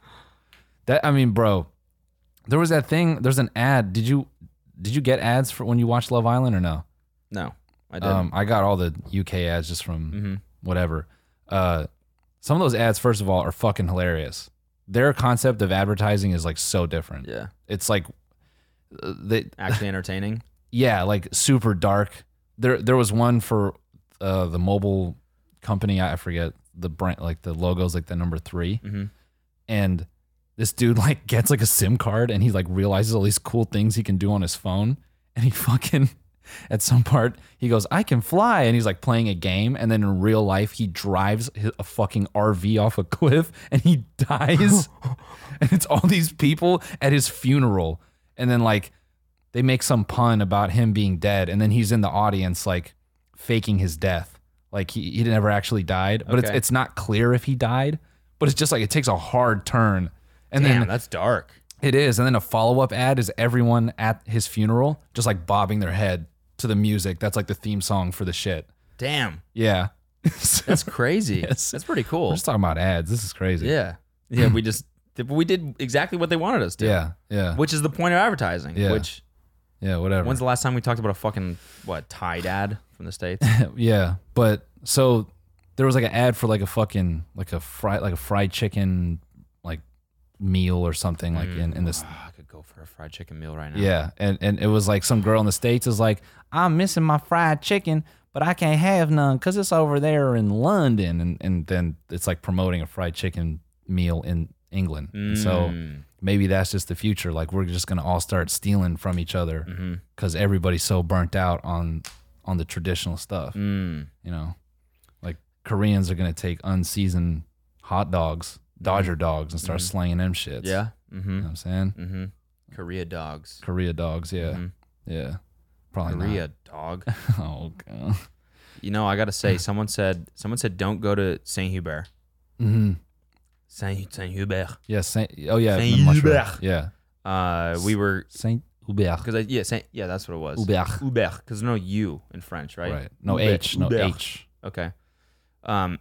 That I mean, bro, there was that thing. There's an ad. Did you did you get ads for when you watched Love Island or no? No, I didn't. Um, I got all the U K ads just from mm-hmm. whatever. Uh, some of those ads, first of all, are fucking hilarious. Their concept of advertising is like so different. Yeah, it's like uh, they actually entertaining. Yeah, like super dark. There, there was one for uh, the mobile company. I forget the brand, like the logo's like the number three, mm-hmm. and this dude like gets like a SIM card, and he like realizes all these cool things he can do on his phone, and he fucking. At some part, he goes, I can fly. And he's like playing a game. And then in real life, he drives a fucking R V off a cliff and he dies. And it's all these people at his funeral. And then like they make some pun about him being dead. And then he's in the audience like faking his death. Like he, he never actually died. But Okay. it's it's not clear if he died. But it's just like it takes a hard turn. And Damn, then that's dark. it is. And then a follow-up ad is everyone at his funeral just like bobbing their head to the music. That's like the theme song for the shit. Damn, Yeah. that's crazy. Yes. That's pretty We're cool. just talking about ads. This is crazy. Yeah, yeah. We just we did exactly what they wanted us to. Yeah. Yeah. Which is the point of advertising. Yeah. Which Yeah. Whatever. when's the last time we talked about a fucking what Tide ad from the States? yeah. But so there was like an ad for like a fucking like a fried like a fried chicken like meal or something like in, in this. Oh, I could go for a fried chicken meal right now. Yeah. And and it was like some girl in the States is like, I'm missing my fried chicken, but I can't have none because it's over there in London. And, and then it's like promoting a fried chicken meal in England. And so Mm. maybe that's just the future. Like we're just going to all start stealing from each other Mm-hmm. because everybody's so burnt out on on the traditional stuff. Mm. You know, like Koreans are going to take unseasoned hot dogs, Dodger dogs, and start slanging them shits. Yeah. You know Mm-hmm. what I'm saying? Mm-hmm. Korea dogs. Korea dogs. Yeah. Mhm. Yeah. Probably Korea dog. not. Oh, God. You know, I gotta say, someone said someone said don't go to Saint Hubert. Mm-hmm. Saint Saint Hubert. Yeah. Saint, oh, yeah. Saint the mushroom. Hubert. Yeah. Uh, we were Saint Hubert. because I yeah Saint yeah that's what it was. Hubert. Hubert because no U in French, right? Right. No Hubert. H. No Hubert. H. Okay. Um.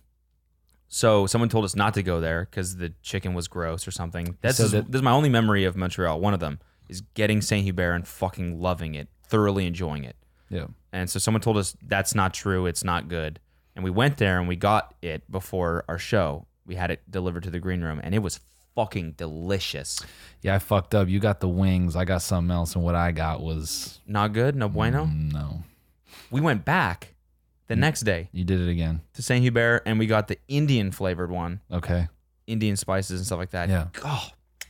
So someone told us not to go there because the chicken was gross or something. That's So just- that- this is my only memory of Montreal. One of them is getting Saint Hubert and fucking loving it, thoroughly enjoying it. Yeah. And so someone told us that's not true. It's not good. And we went there and we got it before our show. We had it delivered to the green room and it was fucking delicious. Yeah. I fucked up. You got the wings. I got something else. And what I got was Not good. No bueno. mm, no. We went back the next day You did it again. to Saint Hubert and we got the Indian flavored one, Okay. Indian spices and stuff like that. Yeah. Oh,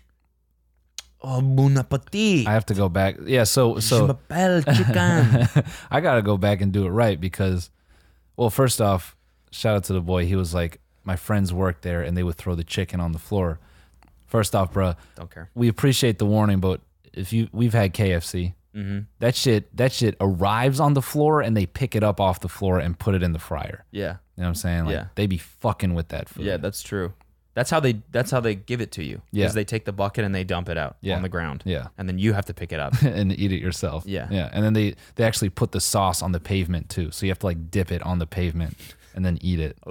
oh bon appetit. I have to go back. Yeah. So, Je so m'appelle chicken. I got to go back and do it right because, well, first off, shout out to the boy. He was like, my friends worked there and they would throw the chicken on the floor. First off, bro, Don't care. we appreciate the warning, but if you, we've had K F C, Mm-hmm. that shit, that shit arrives on the floor and they pick it up off the floor and put it in the fryer. Yeah. You know what I'm saying? Like Yeah. they be fucking with that food. Yeah, that's true. That's how they that's how they give it to you. Yeah. Is they take the bucket and they dump it out Yeah. on the ground. Yeah. And then you have to pick it up. and eat it yourself. Yeah. Yeah. And then they, they actually put the sauce on the pavement too. So you have to like dip it on the pavement and then eat it.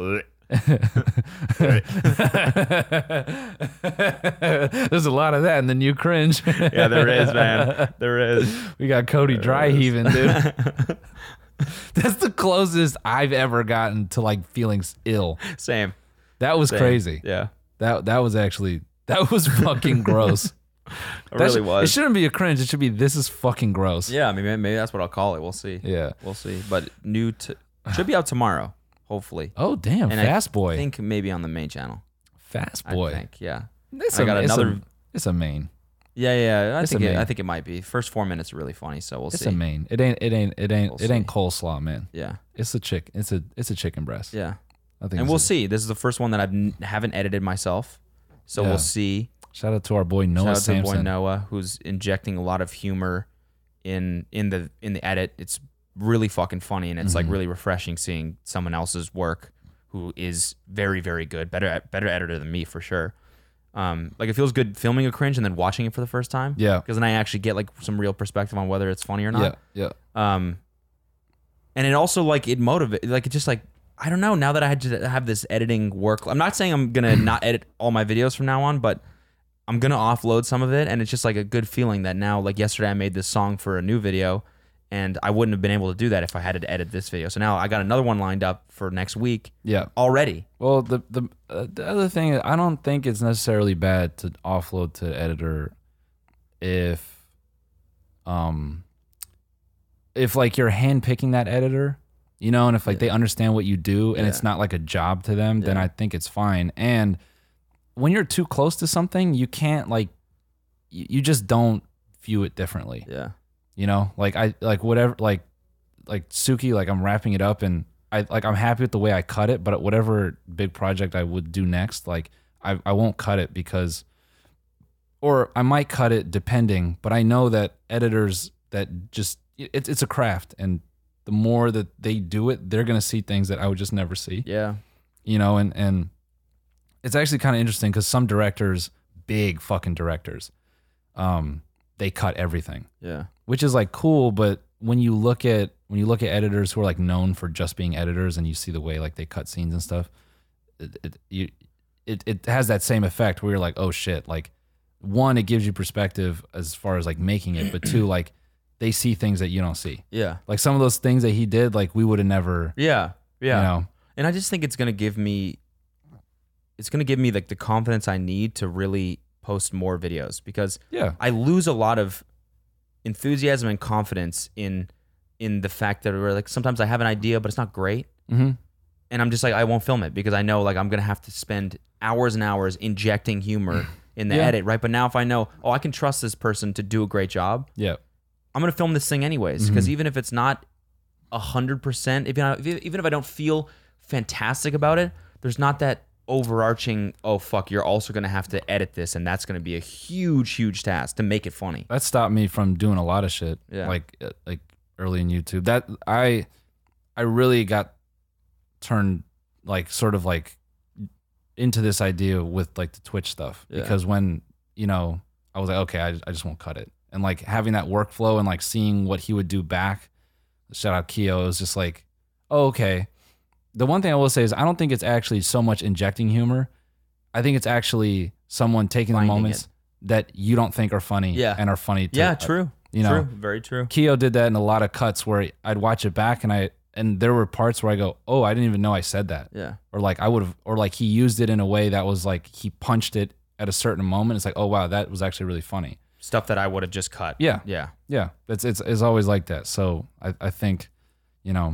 There's a lot of that, and then you cringe. Yeah, there is, man. There is. We got Cody dry heaving, dude. That's the closest I've ever gotten to like feeling ill. Same. That was Same. crazy. Yeah. That that was actually that was fucking gross. It That really should- was. It shouldn't be a cringe. It should be this is fucking gross. Yeah, I mean maybe, maybe that's what I'll call it. We'll see. Yeah. We'll see. But new t- should be out tomorrow, hopefully. Oh damn, And fast I boy. think maybe on the main channel. Fast boy. I think, yeah. It's I a- got it's another- A, it's a main. Yeah, yeah. I It's think a it, main. I think it might be. First four minutes are really funny, so we'll It's see. a main. It ain't. It ain't. It ain't. We'll it ain't see. coleslaw, man. Yeah. It's a chick. It's a. It's a chicken breast. Yeah. I think. And it's we'll a- see. This is the first one that I n- haven't edited myself. So Yeah. we'll see. Shout out to our boy Noah Shout out to the Sampson. boy Noah, who's injecting a lot of humor in in the in the edit. It's really fucking funny, and it's like Mm-hmm. really refreshing seeing someone else's work who is very very good, better better editor than me for sure. Um, like it feels good filming a cringe and then watching it for the first time. Yeah. because then I actually get like some real perspective on whether it's funny or not. Yeah. Yeah. Um, and it also like it motivate like it just like I don't know now that I had to have this editing work. I'm not saying I'm gonna not edit all my videos from now on, but I'm gonna offload some of it, and it's just like a good feeling that now, like yesterday, I made this song for a new video, and I wouldn't have been able to do that if I had to edit this video. So now I got another one lined up for next week. Yeah. Already. Well, the the uh, the other thing, I don't think it's necessarily bad to offload to editor if, um, if like you're handpicking that editor, you know, and if like Yeah. they understand what you do and Yeah. it's not like a job to them, then Yeah. I think it's fine. And when you're too close to something, you can't like, you, you just don't view it differently. Yeah. You know, like I like whatever like like Suki, like I'm wrapping it up and I like I'm happy with the way I cut it, but whatever big project I would do next, like I, I won't cut it because or I might cut it depending, but I know that editors that just it's it's a craft and the more that they do it, they're gonna see things that I would just never see. Yeah. You know, and and it's actually kind of interesting because some directors, big fucking directors, um, they cut everything. Yeah. Which is like cool, but when you look at when you look at editors who are like known for just being editors, and you see the way like they cut scenes and stuff, it it you, it, it has that same effect where you're like, oh shit, like one, it gives you perspective as far as like making it, but two, like they see things that you don't see. Yeah. Like some of those things that he did, like we would have never, Yeah. Yeah. you know, And I just think it's gonna give me it's gonna give me like the confidence I need to really post more videos because yeah, I lose a lot of enthusiasm and confidence in in the fact that we're like sometimes I have an idea but it's not great. mm-hmm. And I'm just like I won't film it because I know like I'm gonna have to spend hours and hours injecting humor in the Yeah. edit, right? But now if I know, oh, I can trust this person to do a great job, yeah, I'm gonna film this thing anyways. Because even if it's not a hundred percent, if you know, even if I don't feel fantastic about it, there's not that overarching. Oh fuck, you're also gonna have to edit this, and that's gonna be a huge, huge task to make it funny. that stopped me from doing a lot of shit. Yeah. Like uh, like early in YouTube, that I I really got turned like sort of like into this idea with like the Twitch stuff Yeah. because when you know I was like, okay, I, I just won't cut it, and like having that workflow and like seeing what he would do back. Shout out Keo, it was just like, oh, okay. The one thing I will say is I don't think it's actually so much injecting humor. I think it's actually someone taking Finding the moments it. that you don't think are funny Yeah. and are funny to, Yeah, true. you know. true. Very true. Keo did that in a lot of cuts where I'd watch it back and I and there were parts where I go, oh, I didn't even know I said that. Yeah, Or like I would have or like he used it in a way that was like he punched it at a certain moment. It's like, oh wow, that was actually really funny. stuff that I would have just cut. Yeah. yeah, Yeah. It's it's it's always like that. So I, I think, you know,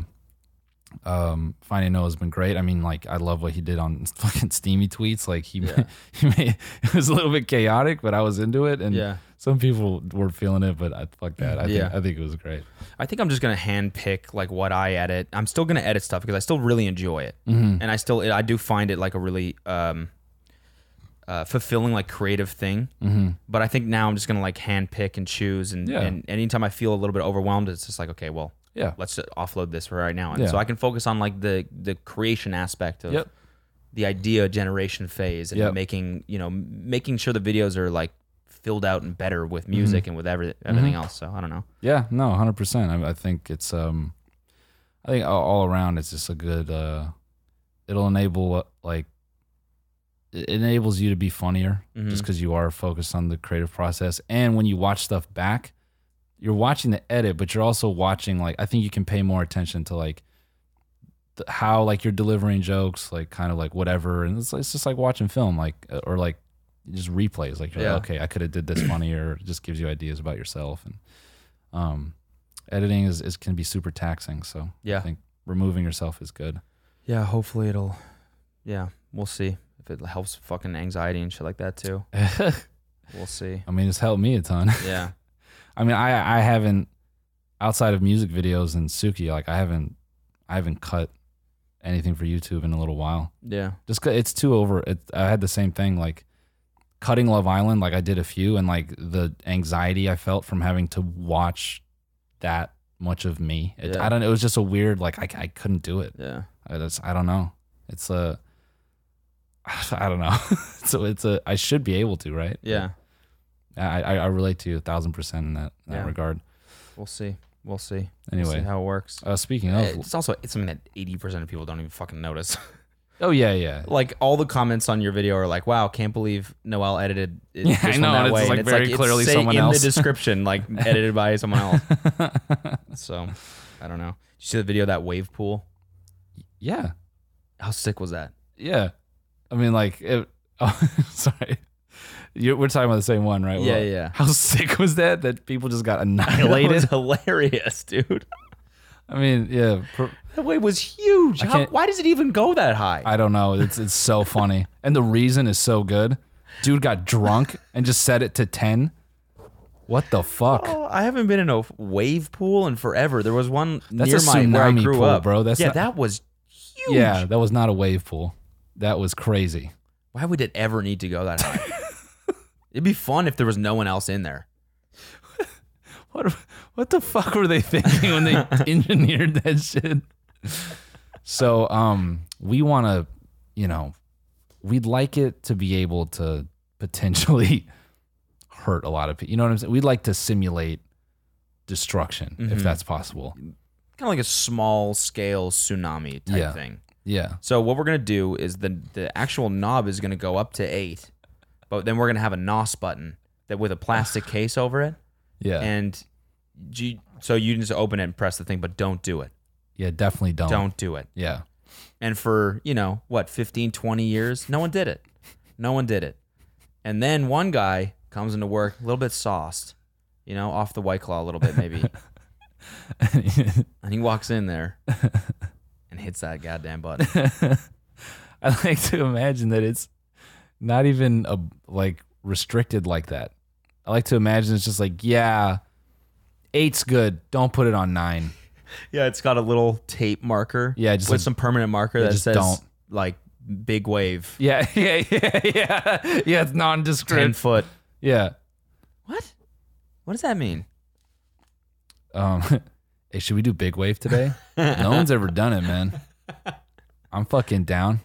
um Finding Noah has been great. I mean, like I love what he did on fucking steamy tweets. Like he Yeah. he made it was a little bit chaotic, but I was into it and yeah. some people were feeling it, but I fuck that. I Yeah. think I think it was great. I think I'm just gonna hand pick like what I edit. I'm still gonna edit stuff because I still really enjoy it, Mm-hmm. and I still I do find it like a really um, uh, fulfilling like creative thing. Mm-hmm. But I think now I'm just gonna like hand pick and choose, and, Yeah. and anytime I feel a little bit overwhelmed, it's just like okay, well, Yeah. let's just offload this for right now, and Yeah. so I can focus on like the the creation aspect of Yep. the idea generation phase and Yep. making you know making sure the videos are like filled out and better with music Mm-hmm. and with every, everything else. So I don't know. Yeah, no, one hundred percent. I, I think it's um I think all, all around it's just a good uh it'll enable uh, like it enables you to be funnier Mhm. just because you are focused on the creative process. And when you watch stuff back, you're watching the edit, but you're also watching like I think you can pay more attention to like the, how like you're delivering jokes, like kind of like whatever, and it's, it's just like watching film, like uh, or like just replays. Like, you're Yeah. like okay, I could have did this funnier. It just gives you ideas about yourself, and um, editing is, is can be super taxing. So Yeah. I think removing yourself is good. Yeah, hopefully it'll. Yeah, we'll see if it helps fucking anxiety and shit like that too. We'll see. I mean, it's helped me a ton. Yeah, I mean, I I haven't outside of music videos and Suki, like I haven't I haven't cut anything for YouTube in a little while. yeah, Just 'cause it's too over. It, I had the same thing, like cutting Love Island. Like I did a few, and like the anxiety I felt from having to watch that much of me. It, Yeah. I don't. It was just a weird. Like I I couldn't do it. yeah. I just I don't know. It's a I don't know. So it's a I should be able to, right? Yeah, I I, I relate to you a thousand percent in that, in that Yeah. regard. we'll see. We'll see. We'll Anyway, see how it works. uh, speaking Uh, of, It's also it's something that eighty percent of people don't even fucking notice. Oh yeah, yeah. Like all the comments on your video are like, "Wow, can't believe Noel edited it Yeah, this I know, one that and it's, way." like, and very clearly say someone in else. the description, like edited by someone else. So I don't know. Did you see the video of that wave pool? Yeah, How sick was that? yeah. I mean, like, it, oh, sorry. You, we're talking about the same one, right? Yeah, Well, yeah. How sick was that? That people just got That annihilated. was hilarious, dude. I mean, yeah. Per, That wave was huge. I How, can't- why does it even go that high? I don't know. It's it's so funny, and the reason is so good. Dude got drunk and just set it to ten. What the fuck? Oh, I haven't been in a wave pool in forever. There was one That's near a my where I tsunami grew pool, up, bro. That's yeah, not- that was huge. Yeah, that was not a wave pool. That was crazy. Why would it ever need to go that high? It'd be fun if there was no one else in there. What what the fuck were they thinking when they engineered that shit? So, um, we want to, you know, we'd like it to be able to potentially hurt a lot of people. You know what I'm saying? We'd like to simulate destruction if that's possible. Kind of like a small scale tsunami type Yeah. thing. Yeah. So what we're gonna do is the the actual knob is gonna go up to eight, but then we're gonna have a N O S button that with a plastic case over it, Yeah. and you, so you just open it and press the thing, but don't do it. yeah, definitely don't. Don't do it. Yeah. And for, you know, what, fifteen, twenty years, no one did it. No one did it. And then one guy comes into work a little bit sauced, you know, off the White Claw a little bit maybe. And he walks in there and hits that goddamn button. I like to imagine that it's not even a, like restricted like that. I like to imagine it's just like, yeah, eight's good. Don't put it on nine. Yeah, it's got a little tape marker. Yeah, just with like- some permanent marker yeah, that just says don't. like big wave, Yeah, yeah, yeah, yeah. Yeah, it's ten nondescript. foot. Yeah. What? What does that mean? Um, hey, should we do big wave today? No one's ever done it, man. I'm fucking down.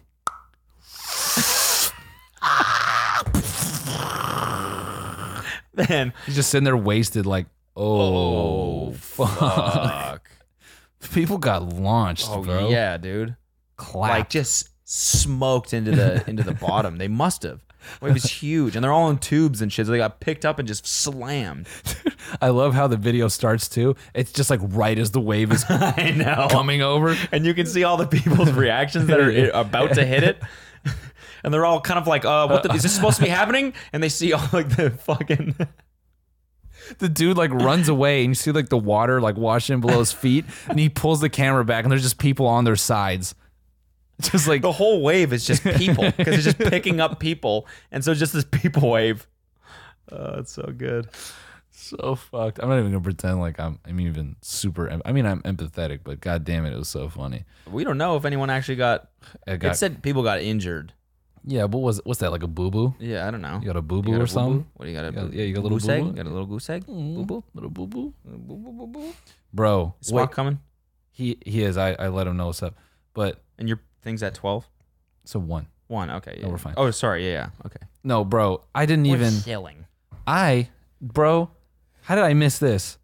Man, He's just sitting there wasted, like, oh, fuck. fuck. People got launched, Oh bro. yeah, dude. Clapped. Like just smoked into the into the bottom. They must have. Wave was huge, and they're all in tubes and shit. So they got picked up and just slammed. I love how the video starts too. It's just like right as the wave is I know. coming over. And you can see all the people's reactions that are about to hit it. And they're all kind of like, uh, what the, is this supposed to be happening? And they see all like the fucking The dude like runs away and you see like the water like washing below his feet and he pulls the camera back and there's just people on their sides. Just like the whole wave is just people because it's just picking up people. And so it's just this people wave. Oh, it's so good. so fucked. I'm not even gonna pretend like I'm I'm even super em- I mean I'm empathetic, but god damn it, it was so funny. We don't know if anyone actually got, I got, it said people got injured. yeah, what was what's that, like a boo boo? Yeah, I don't know. You got a boo You boo got a or boo-boo? something? What do you got? A You got- boo- yeah, you got a little goose egg? boo-boo? Got a little goose egg? Boo boo. Little boo boo? Boo boo boo boo. Bro, Is wait, Spock coming? he he is. I, I let him know what's up. But And your thing's at twelve? so one. One. Okay. Yeah. we're fine. Oh, sorry. Yeah. Yeah. Okay. No, bro, I didn't even killing. I, bro, how did I miss this?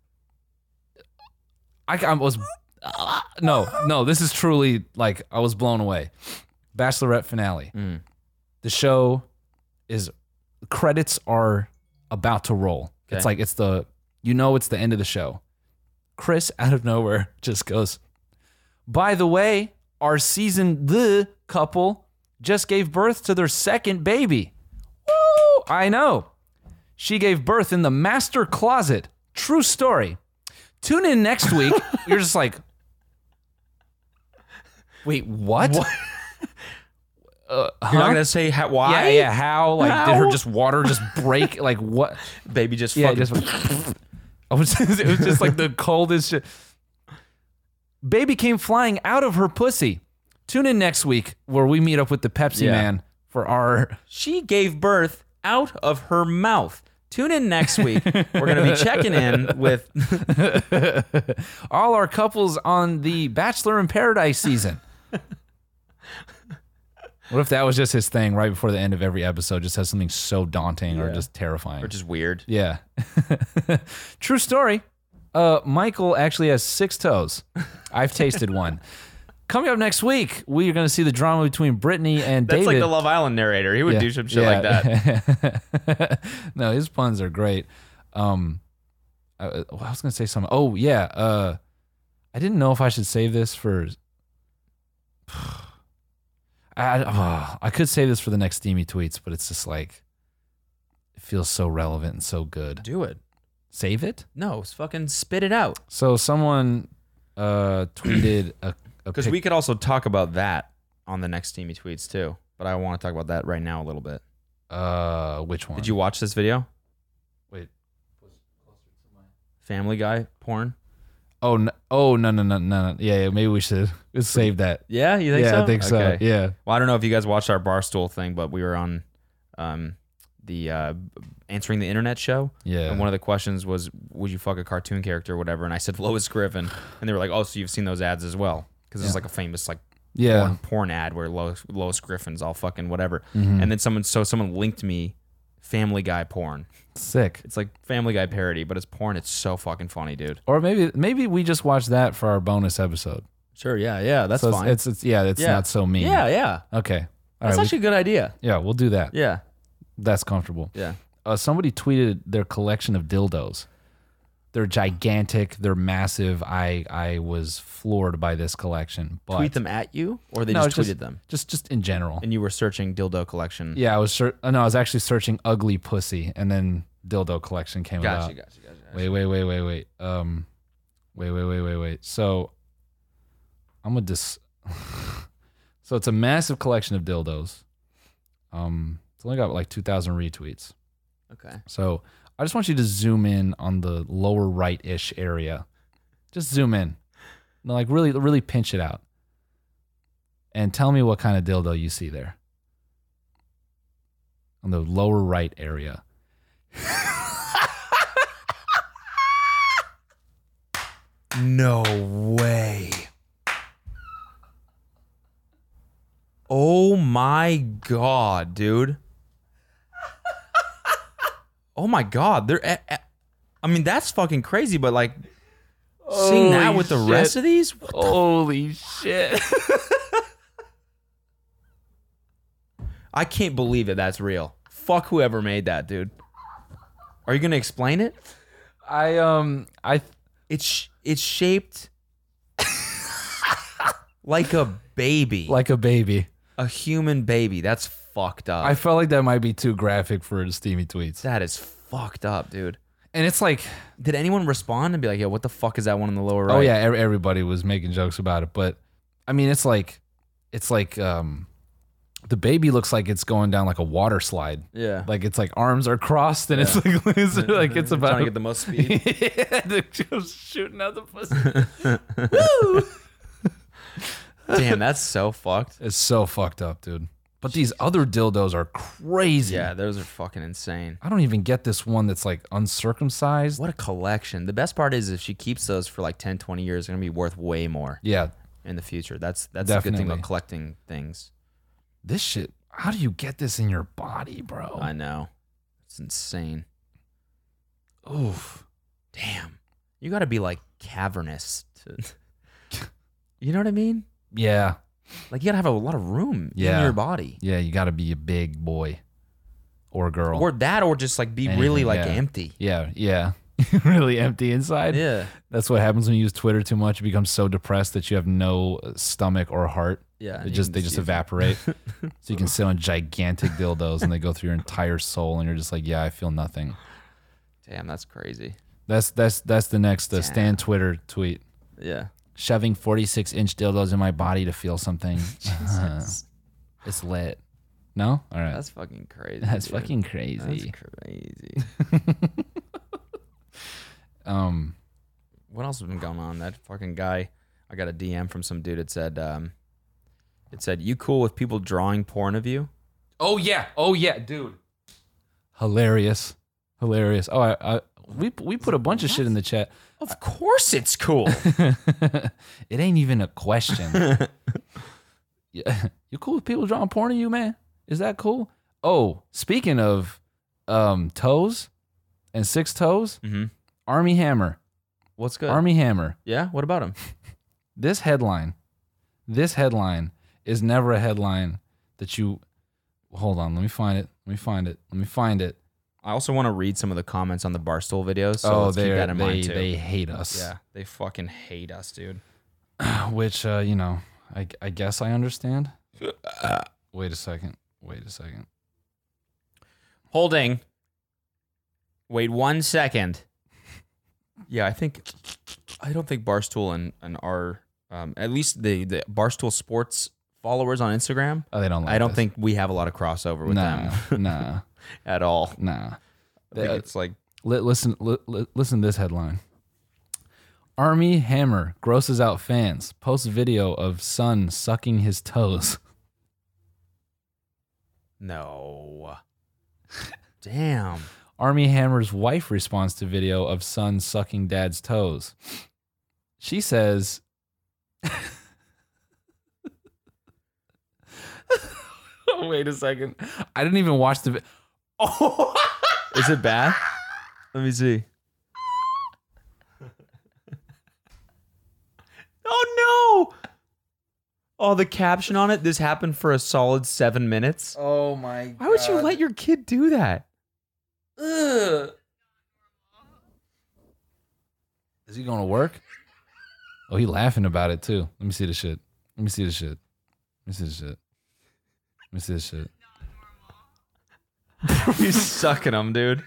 I, I was, no, no, this is truly like, I was blown away. Bachelorette finale. Mm. The show is, credits are about to roll. It's Okay. like, it's the, you know, it's the end of the show. Chris, out of nowhere, just goes, by the way, our season the couple just gave birth to their second baby. Woo! I know. She gave birth in the master closet. True story. Tune in next week. You're just like, wait, what? What? Uh, huh? You're not gonna say how, why? Yeah, yeah. How? Like, did her How? just water just break? Like, what? Baby just Yeah, fucking. just. I was. It was just like the coldest shit. Baby came flying out of her pussy. Tune in next week where we meet up with the Pepsi Yeah. Man for our. She gave birth out of her mouth. Tune in next week. We're gonna be checking in with. all our couples on the Bachelor in Paradise season. What if that was just his thing right before the end of every episode? Just has something so daunting or Yeah. just terrifying. Or just weird. Yeah. True story. Uh, Michael actually has six toes. I've tasted one. coming up next week, we are going to see the drama between Brittany and That's David. like the Love Island narrator. He would Yeah, do some shit yeah. like that. No, his puns are great. Um, I, I was going to say something. Oh, yeah. Uh, I didn't know if I should save this for... I, oh, I could save this for the next steamy tweets, but it's just like... It feels so relevant and so good. Do it. Save it? No, fucking spit it out. So someone uh, tweeted a... Because we could also talk about that on the next Steamy Tweets too. But I want to talk about that right now a little bit. Uh, which one? Did you watch this video? Wait. Family Guy porn? Oh, no, oh no, no, no, no, no. Yeah, yeah, maybe we should let's save that. Yeah, you think yeah, so? I think so. Okay. Yeah. Well, I don't know if you guys watched our Barstool thing, but we were on um, the uh, Answering the Internet show. Yeah. And one of the questions was, would you fuck a cartoon character or whatever? And I said Lois Griffin. And they were like, oh, so you've seen those ads as well? Because it's Yeah. like a famous like Yeah. porn, porn ad where Lois, Lois Griffin's all fucking whatever. Mhm. And then someone, so someone linked me Family Guy porn. Sick. It's like Family Guy parody, but it's porn. It's so fucking funny, dude. Or maybe maybe we just watch that for our bonus episode. Sure, yeah, yeah, that's so fine. It's, it's it's yeah, it's Yeah. not so mean. yeah, yeah. Okay. All That's right. actually a good idea. we, yeah, we'll do that. Yeah, That's comfortable. yeah. Uh, somebody tweeted their collection of dildos. They're gigantic. They're massive. I I was floored by this collection. But Tweet them at you, or they No, just it's tweeted them, just just in general. and you were searching dildo collection. Yeah, I was ser- no, I was actually searching ugly pussy, and then dildo collection came Gotcha, about. gotcha, gotcha. gotcha. Wait, wait, wait, wait, wait. Um, wait, wait, wait, wait, wait. So, I'm gonna dis. So it's a massive collection of dildos. Um, it's only got like two thousand retweets. Okay. So I just want you to zoom in on the lower right-ish area. Just zoom in, no, like really, really pinch it out, and tell me what kind of dildo you see there. On the lower right area. No way. Oh my god, dude. Oh my god, they're. At, at- I mean, that's fucking crazy. But like, seeing that Holy with the shit. rest of these, what the Holy shit. I can't believe that that's real. Fuck whoever made that, dude. Are you gonna explain it? I um I It's it's shaped like a baby, like a baby. a human baby. That's fucked up. I felt like that might be too graphic for the steamy tweets. that is fucked up, dude. And it's like, Did anyone respond and be like, "Yo, what the fuck is that one in the lower right?" oh yeah, ev- everybody was making jokes about it, but I mean, it's like, it's like um, the baby looks like it's going down like a water slide. yeah. Like it's like arms are crossed and it's like it's like it's about trying to get the most speed. yeah, they're just shooting out the pussy. Woo! Damn, that's so fucked. It's so fucked up, dude. But these other dildos are crazy. Yeah, those are fucking insane. I don't even get this one that's like uncircumcised. What a collection. The best part is if she keeps those for like ten, twenty years, they're going to be worth way more Yeah, in the future. That's that's a good thing Definitely. about collecting things. this shit. How do you get this in your body, bro? I know. It's insane. Oof. Damn. You got to be like cavernous to You know what I mean? Yeah, Like you got to have a lot of room in Yeah. your body. yeah. You got to be a big boy or girl. Or that or just like be Anything, really like yeah. empty. yeah, yeah. Really empty inside. Yeah. That's what happens when you use Twitter too much. You become so depressed that you have no stomach or heart. Yeah. It you just can they just see- evaporate. So you can sit on gigantic dildos and they go through your entire soul, and you're just like, yeah, I feel nothing. Damn, that's crazy. That's that's that's the next uh, Damn. Stan Twitter tweet. Yeah. Shoving forty-six inch dildos in my body to feel something. Jesus. It's lit. No? All right. That's fucking crazy. That's dude. fucking That's crazy. crazy. Um, What else has been going on? That fucking guy. I got a D M from some dude. It said, um, it said, "You cool with people drawing porn of you?" oh yeah. Oh yeah, dude. Hilarious. Hilarious. Oh, I, I we we put a bunch of shit in the chat. Of course, it's cool. It ain't even a question. Yeah. You cool with people drawing porn of you, man? Is that cool? Oh, speaking of um toes and six toes, mm-hmm. Army Hammer. What's good? Army Hammer. Yeah. What about him? This headline. this headline is never a headline that you. Hold on, let me find it. Let me find it. Let me find it. I also want to read some of the comments on the Barstool videos. So oh, let's keep they're- that in they mind too. they hate us. yeah, they fucking hate us, dude. Which uh, you know, I I guess I understand. Wait a second. Wait a second. Holding. Wait one second. Yeah, I think I don't think Barstool and, and our um, at least the, the Barstool Sports followers on Instagram. Oh, they don't. Like I don't this. think we have a lot of crossover with Nah, them nah, at all. nah. I think Uh, it's like Li- listen, li- li- listen to this headline. Army Hammer grosses out fans. Posts video of son sucking his toes. no. Damn. Army Hammer's wife responds to video of son sucking dad's toes. She says, "Wait a second. I didn't even watch the. Vi- oh, Is it bad? Let me see. Oh no! Oh, the caption on it. This happened for a solid seven minutes. oh my god. Why would you let your kid do that? Ugh. Is he going to work? Oh, he laughing about it too. Let me see the shit. Let me see the shit. Let me see the shit. Let me see the shit. You're sucking them, dude.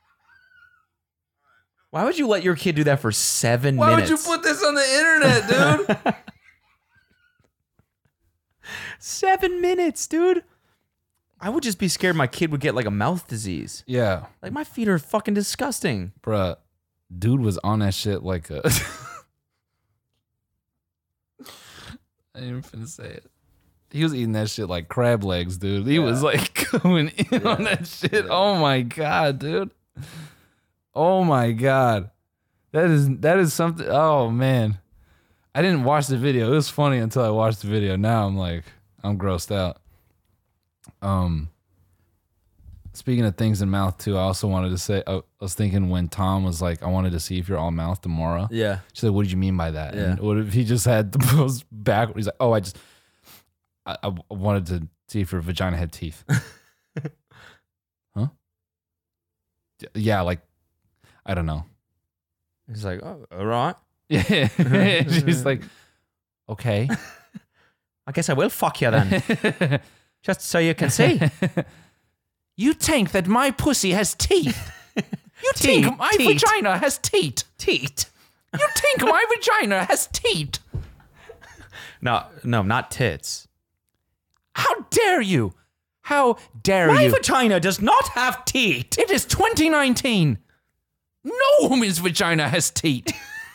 Why would you let your kid do that for seven Why minutes? would you put this on the internet, dude? Seven minutes, dude. I would just be scared my kid would get like a mouth disease. Yeah, Like my feet are fucking disgusting. bruh. Dude was on that shit like a. I ain't even finna say it. He was eating that shit like crab legs, dude. He was like going in on that shit. Oh my god, dude. Oh my god. That is that is something. Oh man. I didn't watch the video. It was funny until I watched the video. Now I'm like I'm grossed out. Um Speaking of things in mouth too, I also wanted to say I was thinking when Tom was like, I wanted to see if you're all mouth tomorrow. Yeah. She said, "What did you mean by that?" Yeah. And what if he just had the most back? He's like, "Oh, I just, I, I wanted to see if your vagina had teeth." Huh? Yeah, like, I don't know. He's like, oh, all right. Yeah, she's like, okay. I guess I will fuck you then. Just so you can see. You think that my pussy has teeth? You Teeth, think my teeth. vagina has teeth? Teat. You think my vagina has teeth? No, no, not tits. How dare you? How dare My you? vagina does not have teat. It is twenty nineteen. No woman's vagina has teat.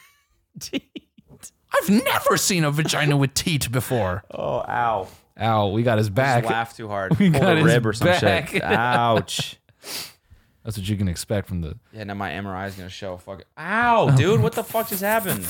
I've never seen a vagina with teat before. Oh, ow. Ow, we got his back. Just laugh too hard. We Pulled got a his rib or some back. shit. Ouch. That's what you can expect from the. Yeah, now my M R I is gonna show. Fuck it. Ow, dude, what the fuck just happened?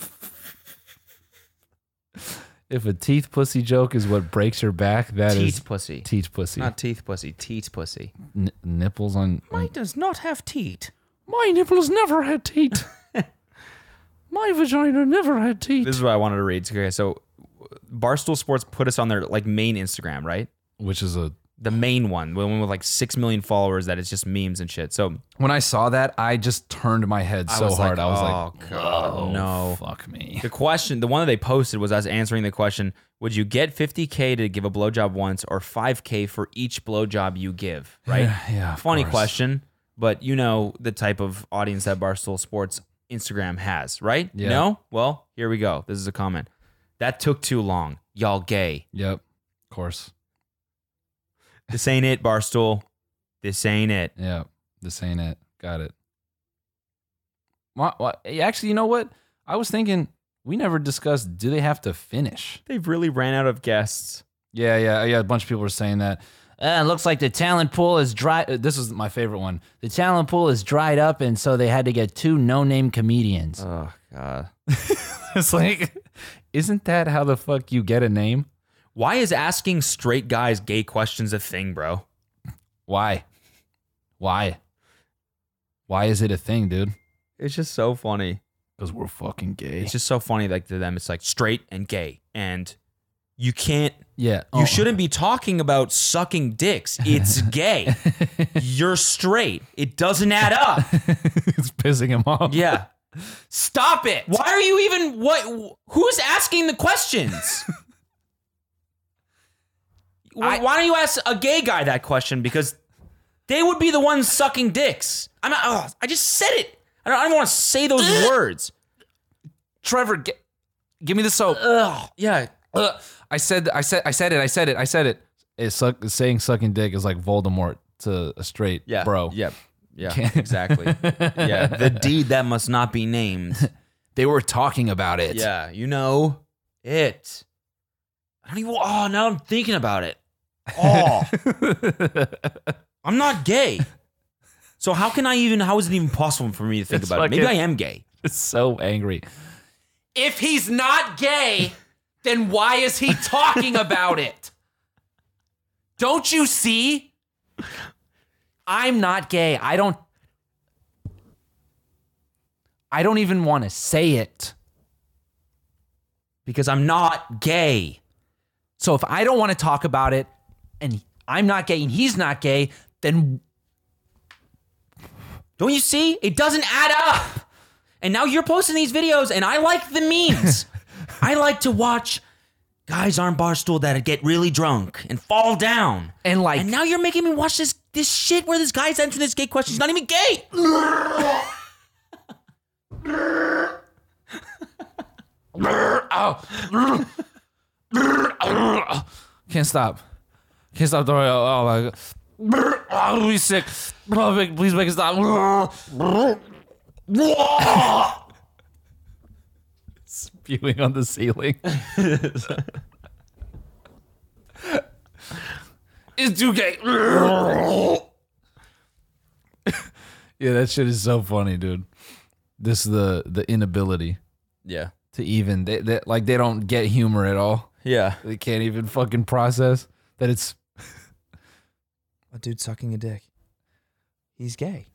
If a teeth pussy joke is what breaks your back, that is Teat pussy. teeth pussy. Not teeth pussy. Teat pussy. N- nipples on. Mine on does not have teat. my nipples never had teeth. My vagina never had teeth. This is what I wanted to read. Okay, so Barstool Sports put us on their like main Instagram, right? Which is a. The main one, the one with like six million followers. That is just memes and shit. So When I saw that, I just turned my head so I was hard. like, I was oh, like, God, "Oh, no. fuck me." The question, the one that they posted was us answering the question: would you get fifty K to give a blowjob once, or five K for each blowjob you give? Right? Yeah, yeah, of Funny course. question, but you know the type of audience that Barstool Sports Instagram has, right? Yeah. No? Well, here we go. This is a comment. That took too long. Y'all gay. Yep, of course. This ain't it, Barstool. This ain't it. Yeah, this ain't it. Got it. What, what? Actually, you know what? I was thinking we never discussed. Do they have to finish? They've really ran out of guests. Yeah, yeah, yeah. A bunch of people were saying that. Uh, it looks like the talent pool is dry. uh, This was my favorite one. The talent pool is dried up, and so they had to get two no-name comedians. Oh, God. It's like, isn't that how the fuck you get a name? Why is asking straight guys gay questions a thing, bro? Why? Why? Why is it a thing, dude? It's just so funny. Because we're fucking gay. It's just so funny. Like to them, it's like straight and gay and you can't. Yeah. You Oh. shouldn't be talking about sucking dicks. It's gay. You're straight. It doesn't add up. It's pissing him off. Yeah. Stop it. Why are you even what? Who's asking the questions? Why, I- why don't you ask a gay guy that question? Because they would be the ones sucking dicks. I'm not. Oh, I just said it. I don't, I don't want to say those words. Trevor, get, give me the soap. Ugh. Yeah. Ugh. I said, I said, I said it. I said it. I said it. It's suck, saying sucking dick is like Voldemort to a straight Yeah. bro. Yep. Yeah. Can't- Exactly. Yeah. The deed that must not be named. They were talking about it. Yeah. You know it. I don't even. Oh, now I'm thinking about it. Oh. I'm not gay. So how can I even? How is it even possible for me to think It's about it? Maybe I fucking- am gay. It's so angry. If he's not gay, then why is he talking about it? Don't you see? I'm not gay. I don't I don't even want to say it. Because I'm not gay. So if I don't want to talk about it and I'm not gay and he's not gay, then Don't you see? It doesn't add up. And now you're posting these videos, and I like the memes. I like to watch guys on Barstool that get really drunk and fall down. and like And now you're making me watch this this shit where this guy's answering this gay question. He's not even gay. Can't stop. Can't stop throwing up. Oh my god. I'm really sick. Please make it stop. Spewing on the ceiling. It's too gay. Yeah, that shit is so funny, dude. This is the the inability Yeah. to even they, they like they don't get humor at all. Yeah. They can't even fucking process that it's A dude sucking a dick. He's gay.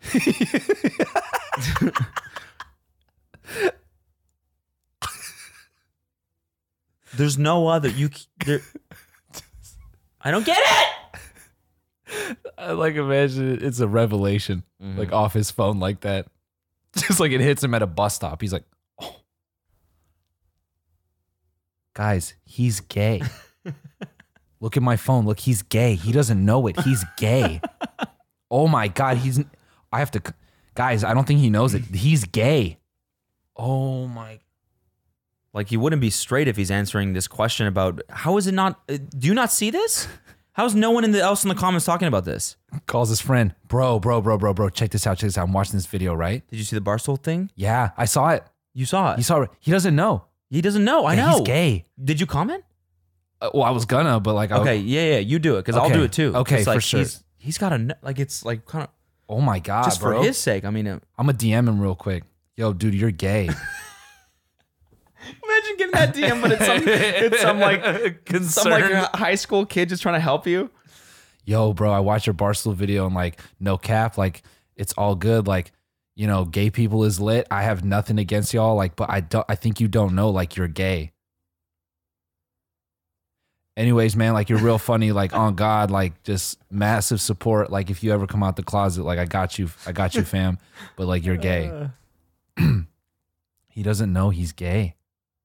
There's no other. You. There, I don't get it. I like imagine it- it's a revelation like off his phone like that. Just like it hits him at a bus stop. He's like, "Oh. Guys, he's gay. Look at my phone. Look, he's gay. He doesn't know it. He's gay. Oh my god, he's I have to guys, I don't think he knows it. He's gay. Oh my Like he wouldn't be straight if he's answering this question about how is it not? uh, Do you not see this? How's no one in the else in the comments talking about this? calls his friend. Bro, bro, bro, bro, bro. Check this out. Check this out. I'm watching this video, right? Did you see the Barstool thing? Yeah, I saw it. You saw it. You saw it. He doesn't know. he doesn't know. I Yeah, know. He's gay. Did you comment? Uh, well, I was gonna, but like, I, Okay, yeah, yeah, you do it because I'll Okay, do it too. okay, It's for like, sure. He's, he's got a like it's like kind of oh my god, just bro. for his sake. I mean, uh, I'm gonna D M him real quick. Yo, dude, you're gay. imagine getting that D M, but it's some it's some like some like high school kid just trying to help you. Yo, bro, I watched your Barstool video and like, no cap, like it's all good. Like, you know, gay people is lit. I have nothing against y'all. Like, but I don't. I think you don't know. Like, you're gay. Anyways, man, like you're real funny. Like, on God, like just massive support. Like, if you ever come out the closet, like I got you. I got you, fam. But like, you're gay. He doesn't know he's gay.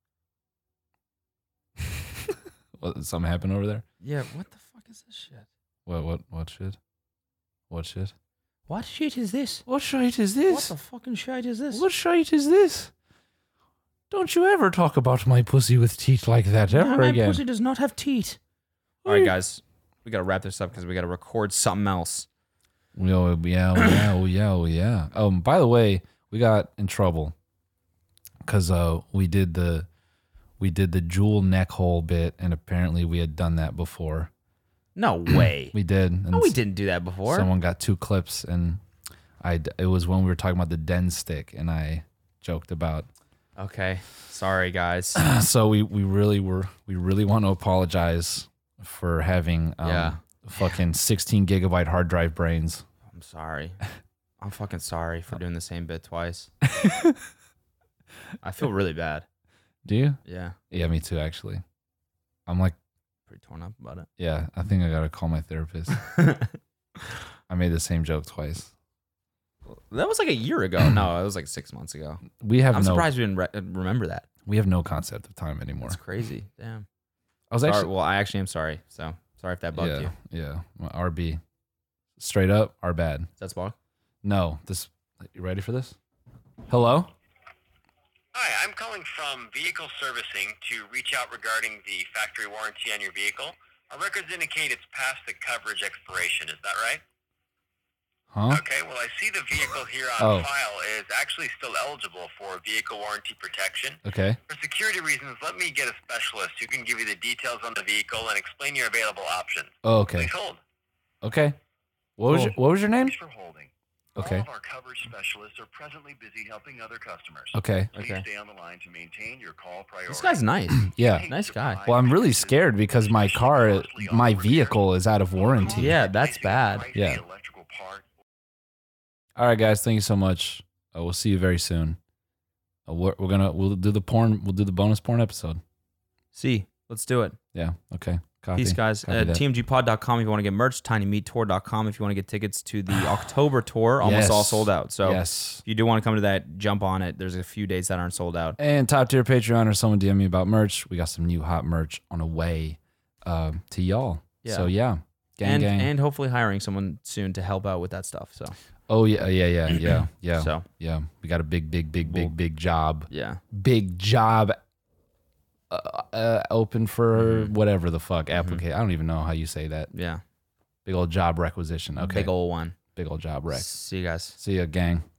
What, something happened over there? Yeah, what the fuck is this shit? What? What? What shit? What shit? What shit is this? What shit is What this? the fucking shit is this? What shite is this? Don't you ever talk about my pussy with teeth like that ever my again. pussy does not have teeth. All right, guys, we gotta wrap this up because we gotta record something else. Oh, yeah, oh, yeah, oh, yeah, oh, yeah. Um, by the way, we got in trouble because uh, we did the we did the jewel neck hole bit, and apparently we had done that before. No way. We did. And no, we didn't do that before. Someone got two clips, and I it was when we were talking about the den stick, and I joked about. Okay, sorry guys. So we we really were we really want to apologize for having um, Yeah. fucking sixteen gigabyte hard drive brains. I'm sorry. I'm fucking sorry for doing the same bit twice. I feel really bad. Do you? Yeah. Yeah, me too. Actually, I'm like, Pretty torn up about it. yeah, I think I gotta call my therapist. I made the same joke twice. That was like a year ago. No, it was like six months ago. We have I'm no. surprised we didn't re- remember that. We have no concept of time anymore. That's crazy. Damn. I was Sorry, actually. well, I actually am sorry. So sorry if that bugged yeah, you. yeah. My R B. Straight up, R bad. Is that Spock? No, this. You ready for this? Hello. Hi, I'm calling from Vehicle Servicing to reach out regarding the factory warranty on your vehicle. Our records indicate it's past the coverage expiration. Is that right? Huh? Okay, well, I see the vehicle here on Oh. file is actually still eligible for vehicle warranty protection. Okay. For security reasons, let me get a specialist who can give you the details on the vehicle and explain your available options. Oh, okay. Please hold. Okay. What was Cool. your What was your name? Thanks for holding. Okay. All of our coverage specialists are presently busy helping other customers. Okay. Please Okay. stay on the line to maintain your call priority. This guy's nice. Yeah. Nice guy. Well, I'm really scared because my car, my vehicle is out of warranty. Yeah, that's bad. Yeah. All right, guys. Thank you so much. Uh, we'll see you very soon. Uh, we're, we're gonna we'll do the porn. We'll do the bonus porn episode. See, let's do it. Yeah. Okay. Copy. Peace, guys. Copy Uh, that. T M G pod dot com if you want to get merch. tiny meat tour dot com if you want to get tickets to the October tour. Almost Yes. all sold out. So yes. if you do want to come to that, jump on it. There's a few dates that aren't sold out. And top tier Patreon or someone D M me about merch. We got some new hot merch on the way uh, to y'all. Yeah. So yeah, gang and gang. and hopefully hiring someone soon to help out with that stuff. So oh yeah, yeah, yeah, yeah, yeah. So. yeah, we got a big, big, big, big, We'll- big job. yeah. Big job uh, uh, open for whatever the fuck applicate. I don't even know how you say that. Yeah. Big old job requisition. Okay. Big old one. Big old job rec. See you guys. See ya, gang.